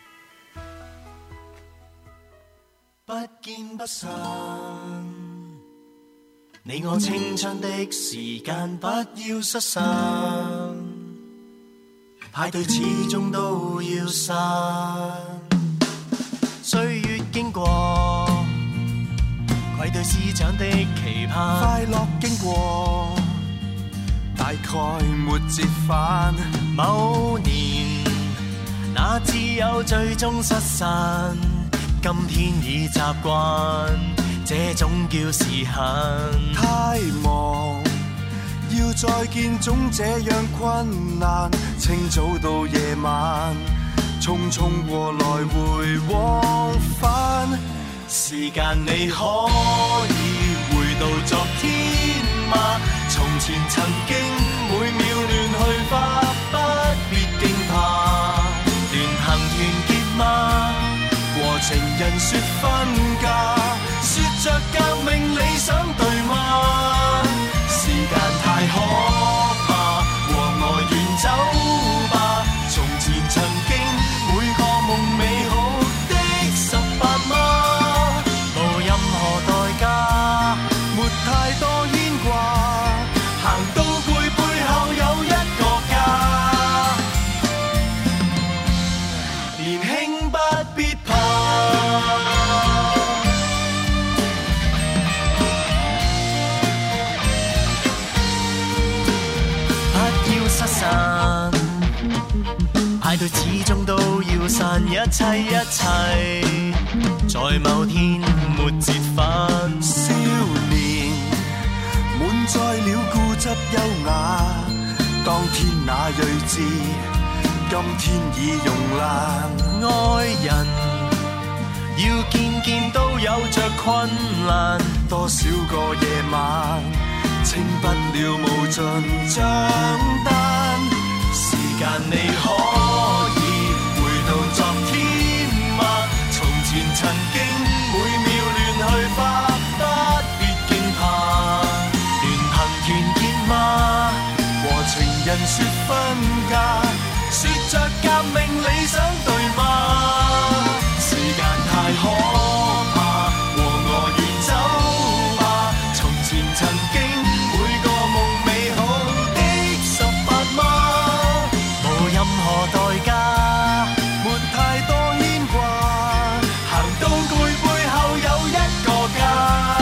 不見不散，你我青春的時間不要失散，派對始終都要散。歲月經過，愧對師長的期盼，快樂經過，大概沒折返。某年那只有最終失散，今天已習慣，這種叫時限。太忙，要再見總這樣困難，清早到夜晚，匆匆過來回往返。時間你可以回到昨天嗎？從前曾經每秒亂去花，不必驚怕。聯行團結嗎？和情人說分家，說着革命理想對嗎？時間太可怕，和我遠走吧。從前曾經每個夢美好的十八嗎？無任何代價，沒太多牽掛，行到攰背後有一個家。年輕不必怕，不要失散，派對始終都要散，一切一切在某天沒折返。 執優雅。當天那睿智，今天已慵懶。愛人要件件都有着困難，多少個夜晚清不了無盡帳單。時間你可以回到昨天嗎？從前曾經每秒亂去花，不必驚怕。聯朋團結嗎？和情人說分家，說着革命理想對嗎？時間太可怕，和我遠走吧。從前曾經每個夢美好的十八嗎？無任何代價，沒太多牽掛，行到攰背後有一個家。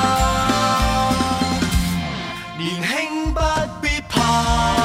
年輕不必怕。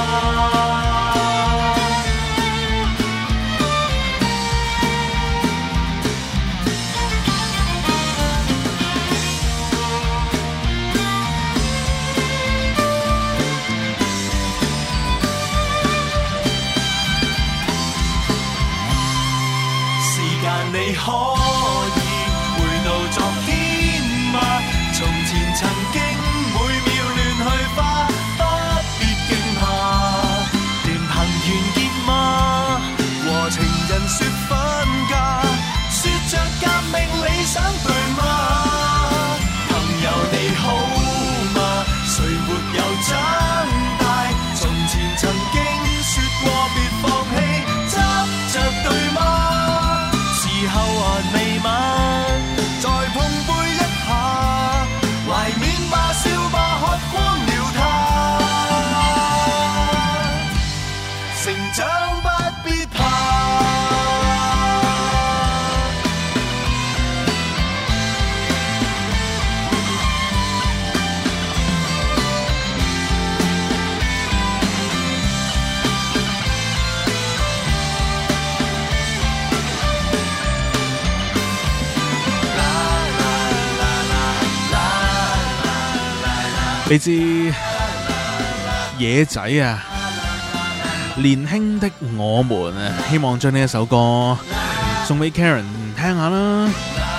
你可以回到昨天嗎？從前曾經每秒亂去花，不必驚怕。聯朋團結嗎？和情人說分家，說着革命理想對嗎？朋友你好嗎？誰沒有長大？從前曾經說過別放棄，執着對嗎？時候還未晚，再碰杯一下，懷緬吧，笑吧，喝光了它。成長不必怕。 你知野仔啊，年輕的我們啊，希望將呢一首歌送俾 Karen 聽下啦。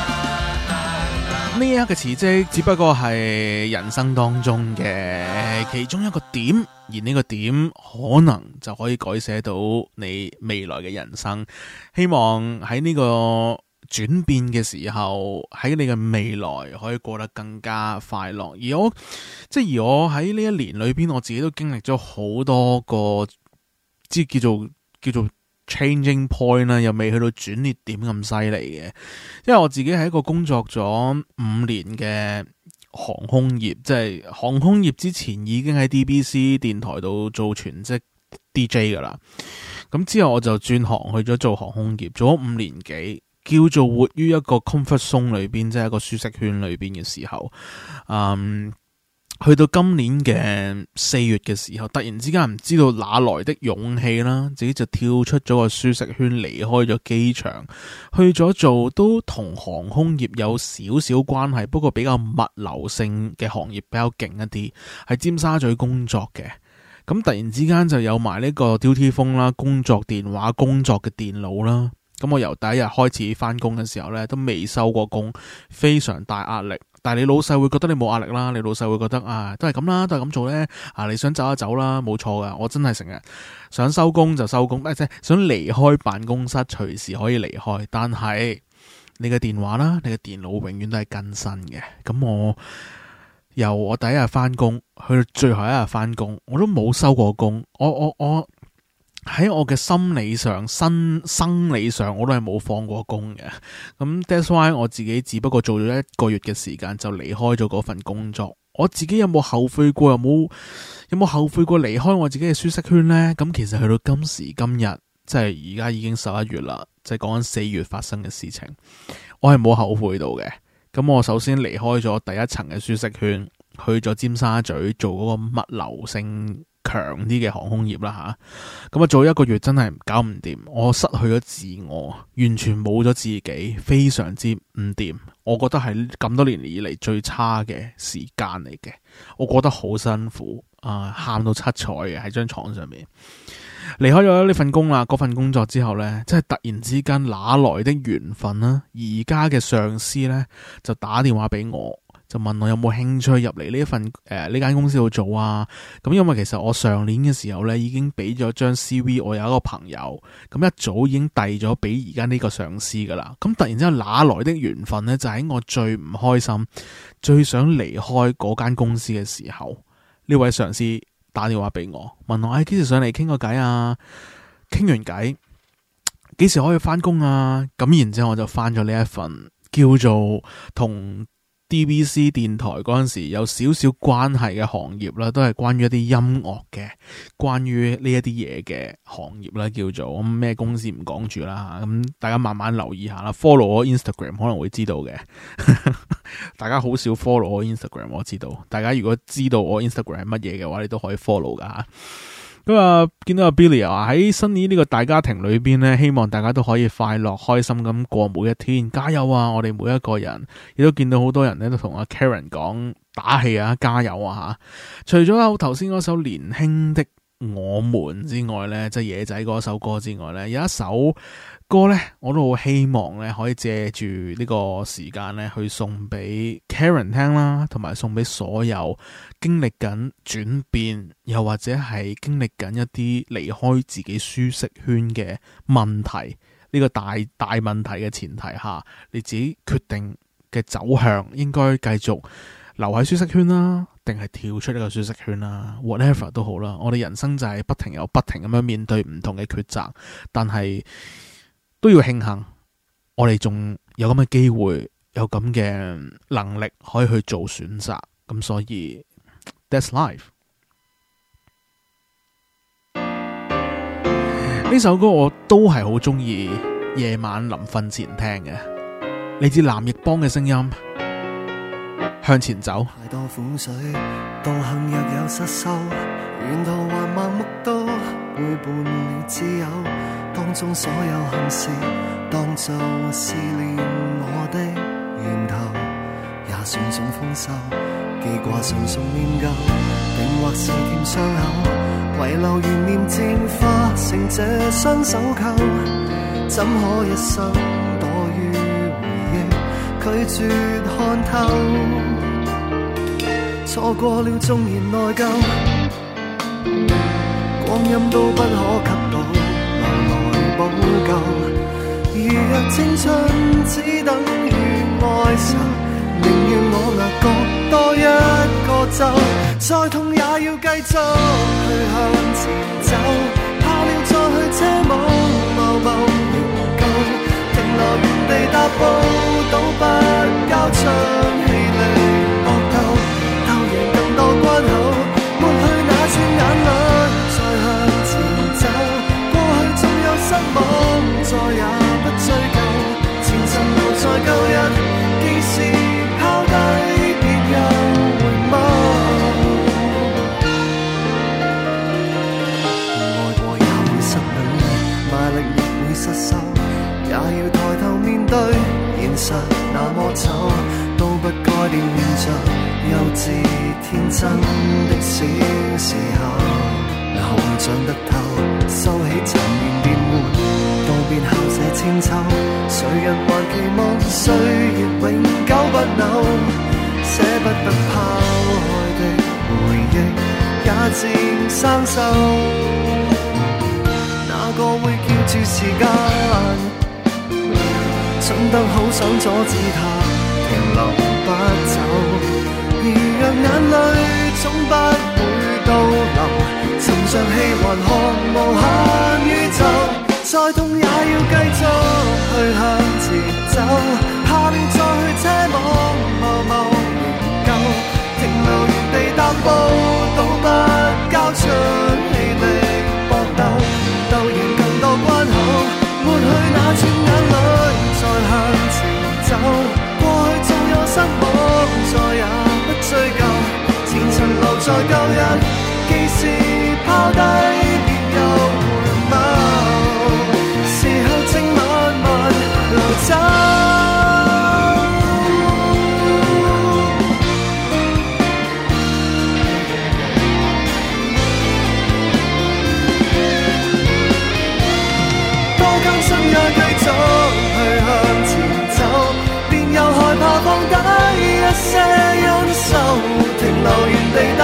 呢一刻嘅辭職只不過係人生當中嘅其中一個點，而呢個點可能就可以改寫到你未來嘅人生。希望喺呢個轉變嘅時候，喺你嘅未來可以過得更加快樂。而我即係而我喺呢一年裏邊，我自己都經歷咗好多個，即係叫做叫做 changing point 啦，又未去到轉捩點咁犀利嘅。因為我自己係一個工作咗五年嘅航空業，即係航空業之前已經喺 D B C 電台度做全職 D J 噶啦。咁之後我就轉行去咗做航空業，做咗五年幾。叫做活於一個 comfort zone 裏邊，即係一個舒適圈裏邊嘅時候，嗯，去到今年嘅四月嘅時候，突然之間唔知道哪來的勇氣啦，自己就跳出咗個舒適圈，離開咗機場，去咗做都同航空業有少少關係，不過比較物流性嘅行業比較勁一啲，喺尖沙咀工作嘅。咁突然之間就有埋呢個 duty phone 啦，工作電話、工作嘅電腦啦。咁我由第一日開始翻工嘅時候咧，都未收過工，非常大壓力。但係你老細會覺得你冇壓力啦，你老細會覺得啊，都係咁啦，都係咁做咧。啊，你想走一走啦，冇錯噶。我真係成日想收工就收工，即係想離開辦公室，隨時可以離開。但係你嘅電話啦，你嘅電腦永遠都係更新嘅。咁我由我第一日翻工去到最後一日翻工，我都冇收過工。我我我。喺我嘅心理上、生生理上，我都係冇放過工嘅。咁 that's why 我自己只不過做咗一個月嘅時間就離開咗嗰份工作。我自己有冇後悔過？有冇有冇後悔過離開我自己嘅舒適圈呢？咁其實去到今時今日，即係而家已經十一月啦，即係講緊四月發生嘅事情，我係冇後悔到嘅。咁我首先離開咗第一層嘅舒適圈，去咗尖沙咀做嗰個物流性強啲嘅航空業啦吓，咁啊做一個月真係搞唔掂，我失去咗自我，完全冇咗自己，非常之唔掂。我覺得係咁多年以嚟最差嘅時間嚟嘅，我覺得好辛苦。 啊，喊到七彩嘅喺張床上面。離開咗呢份工啦，嗰份工作之後呢，即係突然之間哪來的緣分啦？而家嘅上司呢，就打電話俾我，就問我有冇興趣入嚟呢一份誒呢間公司度做啊？咁因為其實我上年嘅時候呢，已經俾咗張 C V， 我有一個朋友，咁一早已經遞咗俾而家呢個上司噶啦。咁突然之間哪來的緣分呢？就喺我最唔開心、最想離開嗰間公司嘅時候，呢位上司打電話俾我，問我誒幾時上嚟傾個偈啊？傾完偈幾時可以翻工啊？咁然之後我就翻咗呢一份叫做同 D B C 電台嗰陣時有少少關係嘅行業啦，都係關於一啲音樂嘅，關於呢一啲嘢嘅行業啦，叫做咁咩公司唔講住啦，咁大家慢慢留意下啦。follow 我 Instagram 可能會知道嘅，大家好少 follow 我 Instagram， 我知道。大家如果知道我 Instagram 係乜嘢嘅話，你都可以 follow 噶。咁啊，見到阿 Billy 啊，喺新年呢個大家庭裏邊呢，希望大家都可以快樂開心咁過每一天，加油啊！我哋每一個人，亦都見到好多人呢都同阿 Karen 講打氣啊，加油啊吓！除咗有頭先嗰首年輕的我們之外呢，即係野仔嗰首歌之外呢，有一首歌呢，我都好希望呢可以借住呢個時間呢去送俾 Karen 聽啦，同埋送俾所有經歷緊轉變，又或者係經歷緊一啲離開自己舒適圈嘅問題，呢個大大問題嘅前提下，你自己決定嘅走向應該繼續留喺舒適圈啦，定係跳出呢個舒適圈啦 ，whatever 都好啦。我哋人生就係不停有不停咁樣面對唔同嘅抉擇，但係都要慶幸，我哋仲有咁嘅機會，有咁嘅能力可以去做選擇。咁所以 that's life。呢首歌我都係好中意，夜晚臨瞓前聽嘅，嚟自藍奕邦嘅聲音。向前走， 太多苦水，道行若有失收，沿途還盲目到背叛了摯友，當中所有幸事當作試煉我的源頭，也算種豐收，記掛純屬念舊，定或是甜傷口，遺留懸念漸化成這雙手扣，怎可一生躲於回憶，拒絕看透，錯過了縱然內疚，光陰都不可給到，留來補救。如若青春只等於愛愁，寧願我額角多一個皺，再痛也要繼續去向前走，怕了再去奢望某某仍舊，停留原地踏步，都不交出氣力搏鬥。多關口，抹去那串眼淚，再向前走。過去縱有失望，再也不追究。前塵留在舊日，既是拋低，別又回眸。愛過也會失戀，賣力亦會失手，也要抬頭面對現實那麼醜，都不該戀着幼稚天真的小時候，哪會長得透，收起殘年變換，道別後這千秋，誰人還期望歲月永久不朽，捨不得拋開的回憶也漸生鏽，哪個會叫住時間，蠢得好想阻止它停留不走，如若眼淚總不會倒流，沉着氣還看無限宇宙，再痛也要繼續去向前走，怕了再去奢望某某仍舊，停留原地踏步，都不交出氣力搏鬥，鬥贏更多關口，抹去那串眼淚，再向前走，過去縱有失望，再也追究，前塵留在舊日，既是拋低，別又回眸，時候正慢慢流走。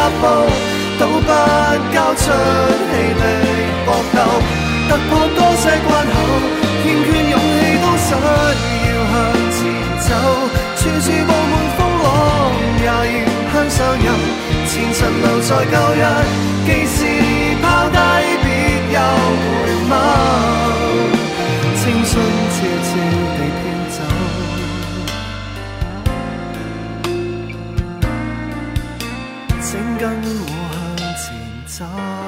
踏步，都不交出氣力搏鬥，突破多些關口，欠缺勇氣都想要向前走，處處佈滿風浪，也要向上游，前塵留在舊日，既是拋低別又回眸，青春悄悄地飄走，請跟我向前走。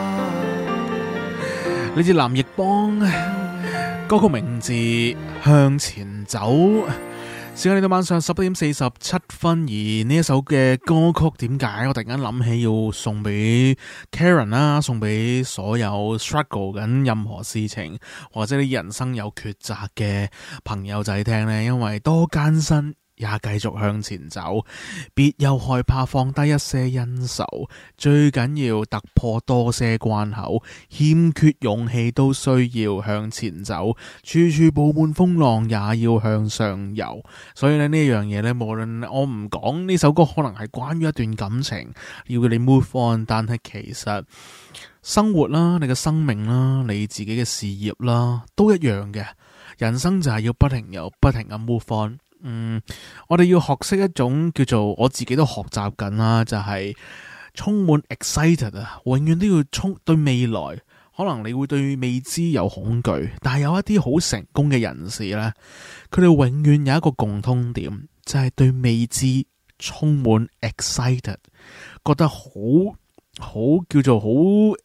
呢支藍奕邦歌曲名字《向前走》。時間嚟到晚上十一點四十七分，而呢一首嘅歌曲點解我突然間諗起要送俾 Karen 啦，送俾所有 struggle 緊任何事情或者你人生有抉擇嘅朋友仔聽呢？因為多艱辛也繼續向前走，別又害怕放低一些恩仇，最緊要突破多些關口，欠缺勇氣都需要向前走，處處佈滿風浪也要向上游。所以咧呢樣嘢呢，無論我唔講呢首歌可能係關於一段感情，要你 move on， 但係其實生活啦，你嘅生命啦，你自己嘅事業啦，都一樣嘅。人生就係要不停有不停咁 move on。嗯，我哋要學識一種叫做我自己都學習緊啦，就係、是、充滿 excited 啊，永遠都要充對未來。可能你會對未知有恐懼，但係有一啲好成功嘅人士呢，佢哋永遠有一個共通點，就係、是、對未知充滿 excited， 覺得好好叫做好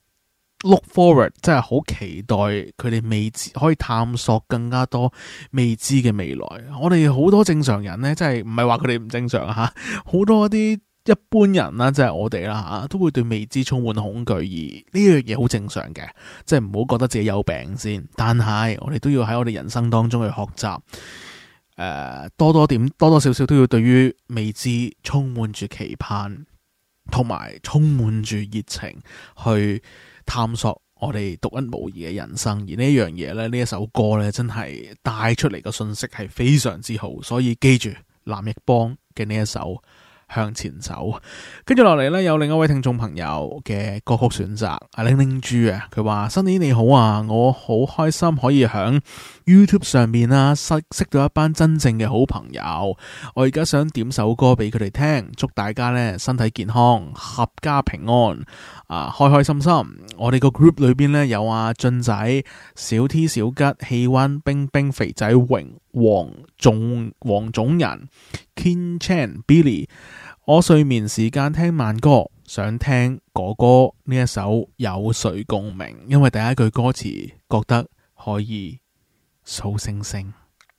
look forward， 真係好期待佢哋未知可以探索更加多未知嘅未來。我哋好多正常人呢，真係唔係話佢哋唔正常吓，好多一啲一般人啦，即係我哋啦吓，都會對未知充滿恐懼，而呢樣嘢好正常嘅，即係唔好覺得自己有病先。但係我哋都要喺我哋人生當中去學習，誒、呃，多多點多多少少都要對於未知充滿住期盼，同埋充滿住熱情去探索我哋獨一無二嘅人生。而呢樣嘢咧，呢一首歌咧，真係帶出嚟嘅信息係非常之好，所以記住藍奕邦嘅呢一首向前走。跟住落嚟呢，有另一位聽眾朋友嘅歌曲選擇，阿玲玲豬啊，佢話新年你好啊，我好開心可以響 YouTube 上面啦，識識到一班真正嘅好朋友。我而家想點首歌俾佢哋聽，祝大家呢身體健康，合家平安啊，開開心心。我哋個 group 裏邊呢，有阿俊仔、小 T、小吉、氣溫、冰冰、肥仔、榮、黃總、黃種人、Ken Chan、Billy。我睡眠時間聽慢歌，想聽哥哥呢一首有誰共鳴，因為第一句歌詞覺得可以數星星。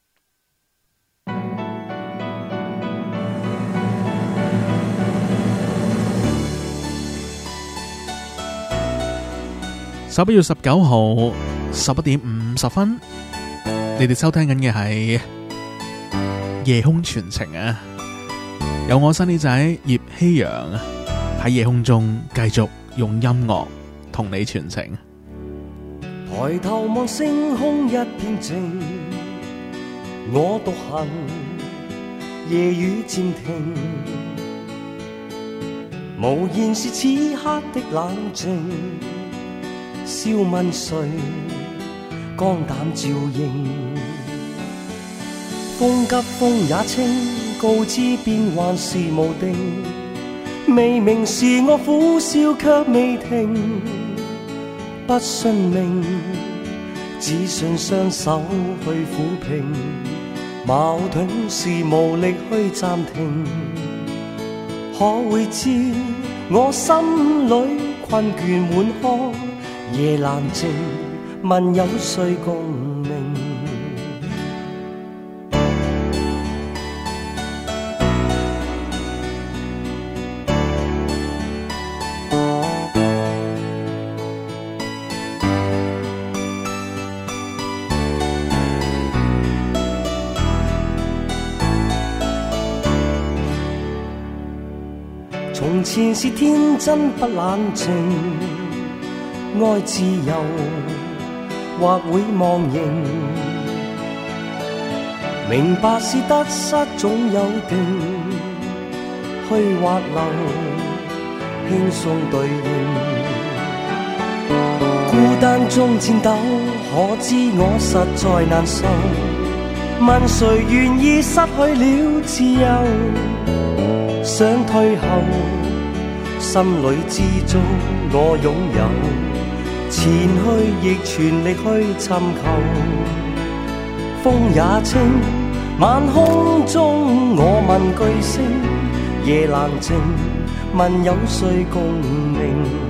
十一月十九號十一點五十分，你哋收聽緊嘅係夜空傳情啊！有我新呢仔葉希陽喺夜空中繼續用音樂同你傳情。 抬頭望星空一片靜，我獨行夜雨漸停，無言是此刻的冷靜，笑問誰肝膽照應，風急風也清，告知變幻是無定，未明時我苦笑卻未停，不信命，只信雙手去撫平，矛盾是無力去暫停，可會知我心裏困倦滿腔，夜闌靜問有誰共鳴，從前是天真不冷靜，愛自由或會忘形，明白是得失總有定，去或留， 輕鬆對應。孤單中戰鬥，可知我實在難受。問誰願意失去了自由？想退後，心裏知足我擁有，前去亦全力去尋求。風也清，晚空中我問句星，夜闌靜，問有誰共鳴？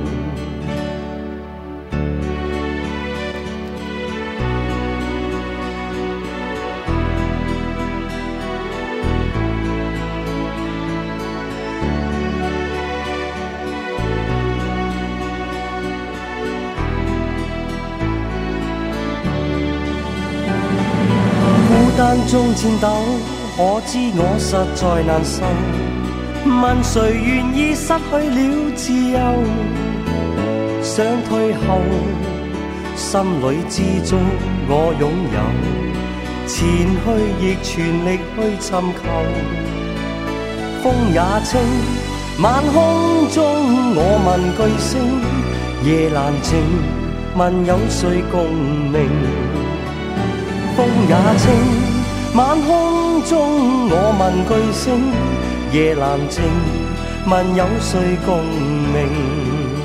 孤單中戰鬥，可知我實在難受。問誰願意失去了自由？想退後，心裏知足我擁有，前去亦全力去尋求。風也清，晚空中我問句星，夜闌靜，問有誰共鳴？風也清，晚空中我問句星，夜闌靜，問有誰共鳴？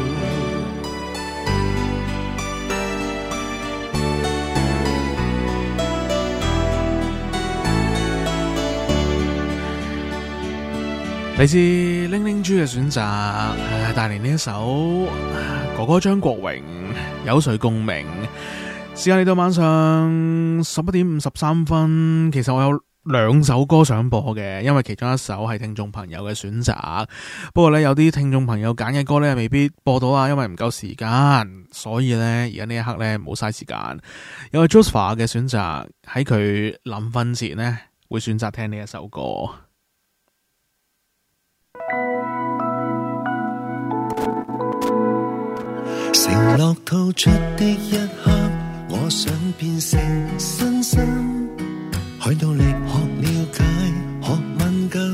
嚟自玲玲豬嘅選擇，帶嚟呢一首哥哥張國榮有誰共鳴。時間嚟到晚上十一點五十三分，其實我有兩首歌想播嘅，因為其中一首係聽眾朋友嘅選擇。不過呢，有啲聽眾朋友揀嘅歌呢未必播到啊，因為唔夠時間，所以呢，而家呢一刻呢冇嘥時間。有個 Joseph 嘅選擇，喺佢臨瞓前呢會選擇聽呢一首歌。 承諾吐出的一刻，我想變成新生，去努力學了解，學敏感，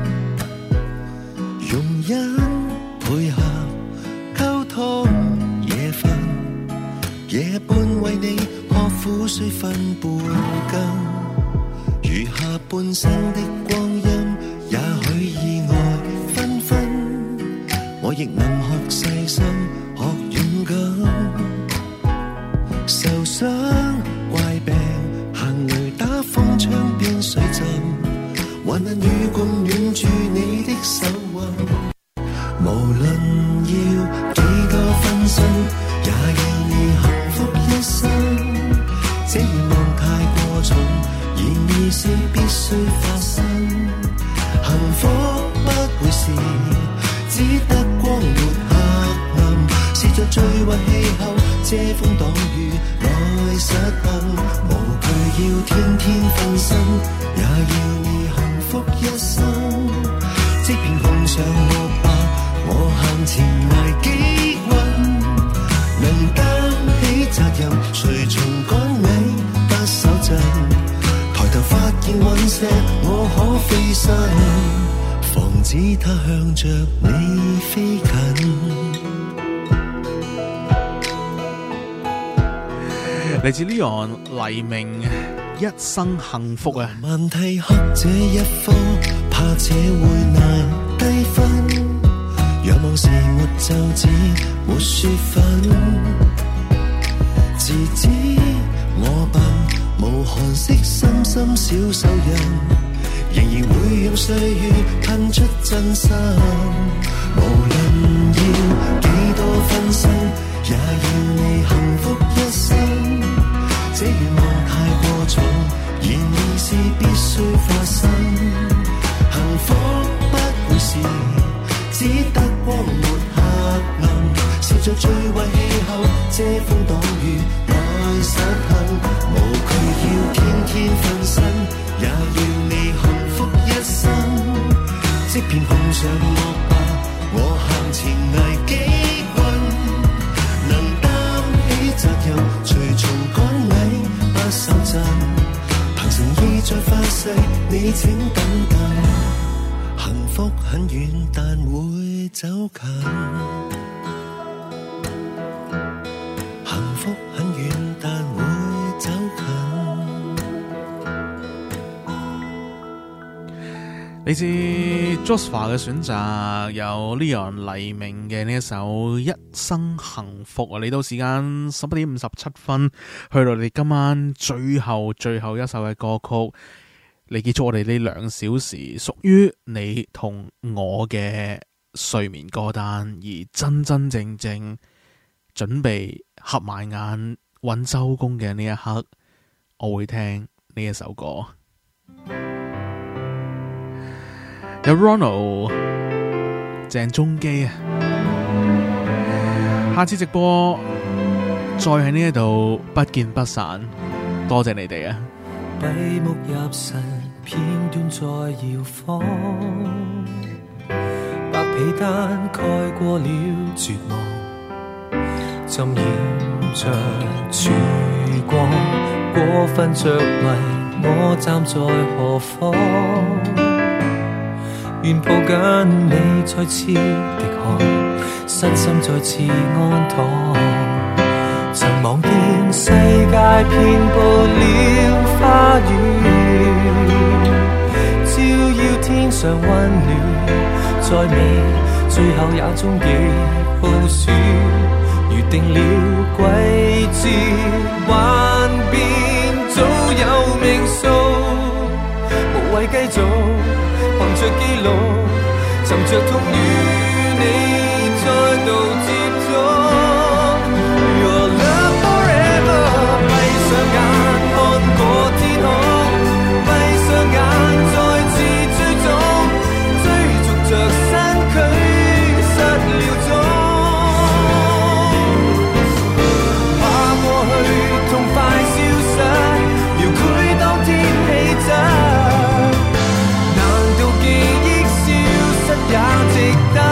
容忍配合溝通，夜瞓夜半為你學苦水分半羹，餘下半生的光陰，也許意外紛紛，我亦能學細心。受傷怪病行雷打風窗邊水浸，還能與共暖住你的手腕，無論要幾多分身，也要你幸福一生。這願望太過重，然而是必須發生。幸福不會是只得光沒黑暗，試着最壞氣候遮風擋雨來實行，無懼要天天分身，也要你幸福一生。即便碰上惡霸，我向前捱幾運，能擔起責任，隨從趕你不手震。抬頭發現隕石，我可飛身，防止它向着你飛近。 嚟自 Leon 黎明一生幸福啊！ 問題黑這一科，怕這會難低分。仰望時沒奏子，沒雪粉。自知我笨，無寒色深深小手印，仍然會用歲月噴出真心。無論要幾多分身，也要你幸福一生。這願望太過重，然而是必須發生。幸福不會是只得光沒黑暗，試着最壞氣候遮風擋雨來實行，無懼要天天分身，也要你幸福一生。即便碰上惡霸，我向前捱幾運，能擔起責任，隨從趕你不手震，憑誠意再發誓，你請等等。幸福很遠，但會走近，幸福很遠但會走近。 嚟自 Josepha 嘅選擇，有 Leon 黎明嘅呢一首《一生幸福》啊！嚟到時間十一點五十七分，去到你今晚最後最後一首嘅歌曲，嚟結束我哋呢兩小時屬於你同我嘅睡眠歌單，而真真正正準備合埋眼揾周公嘅呢一刻，我會聽呢一首歌。有 Ronald 鄭中基啊，下次直播再喺呢一度不見不散，多謝你哋啊！ 閉目入神，片段在搖晃，白被單蓋過了絕望，浸染着曙光，過分着迷，我站在何方？願抱緊你再次滴汗，身心再次安躺。曾望見世界遍佈了花園，照耀天上溫暖，再美最後也終極耗損。預定了季節幻變，早有命數，無謂繼續憑着記錄，尋着痛與你再度接觸。Your love forever， 閉上眼看過天空，閉上眼再次追蹤，追逐着身軀失了蹤，怕過去痛快消失，描繪當天氣質。也值得。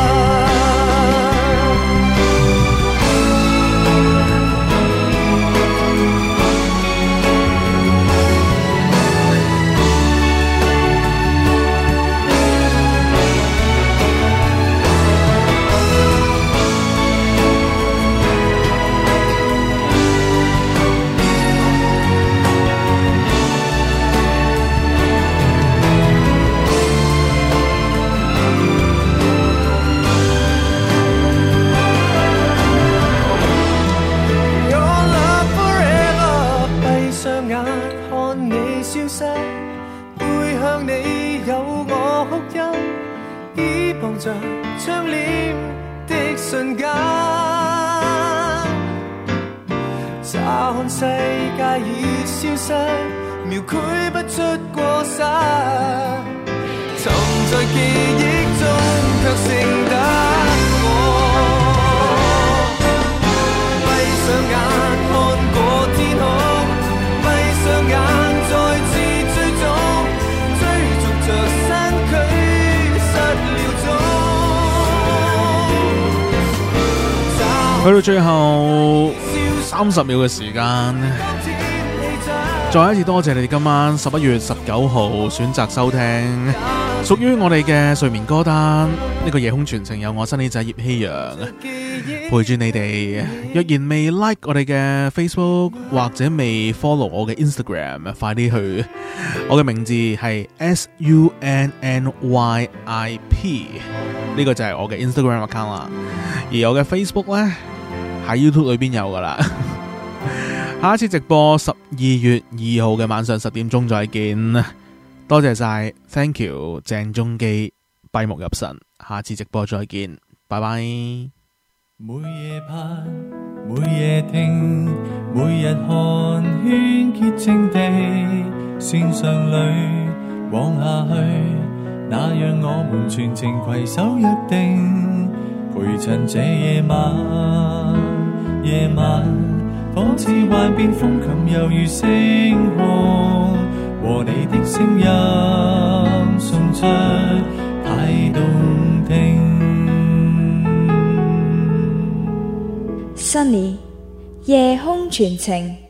背向你有我哭泣，倚傍着窗簾的瞬間，乍看世界已消失，描繪不出過失，沉在記憶中卻剩得我，閉上眼看過天空，閉上眼再次追蹤，追逐着身軀失了蹤。 去到最後三十秒嘅時間，再一次多謝你哋今晚十一月十九號選擇收聽屬於我哋嘅睡眠歌單。呢個夜空傳情有我新呢仔葉希陽陪住你哋。若然未 like 我哋嘅 Facebook 或者未 follow 我嘅 Instagram， 快啲去。我嘅名字係 S U N N Y I P， 呢個就係我嘅 Instagram account 啦。而我嘅 Facebook 呢，喺 YouTube 裏邊有噶啦。下一次直播十二月二號嘅晚上十點鐘再見。多謝晒 ，Thank you， 鄭中基閉目入神。下次直播再見，拜拜。 每夜盼，每夜聽，每日看，喧潔淨地線上裏往下去，那讓我們全程攜手約定，陪襯這夜晚，夜晚仿似幻變風琴，猶如星空，和你的聲音送出太動聽。 Sunny 夜空傳情。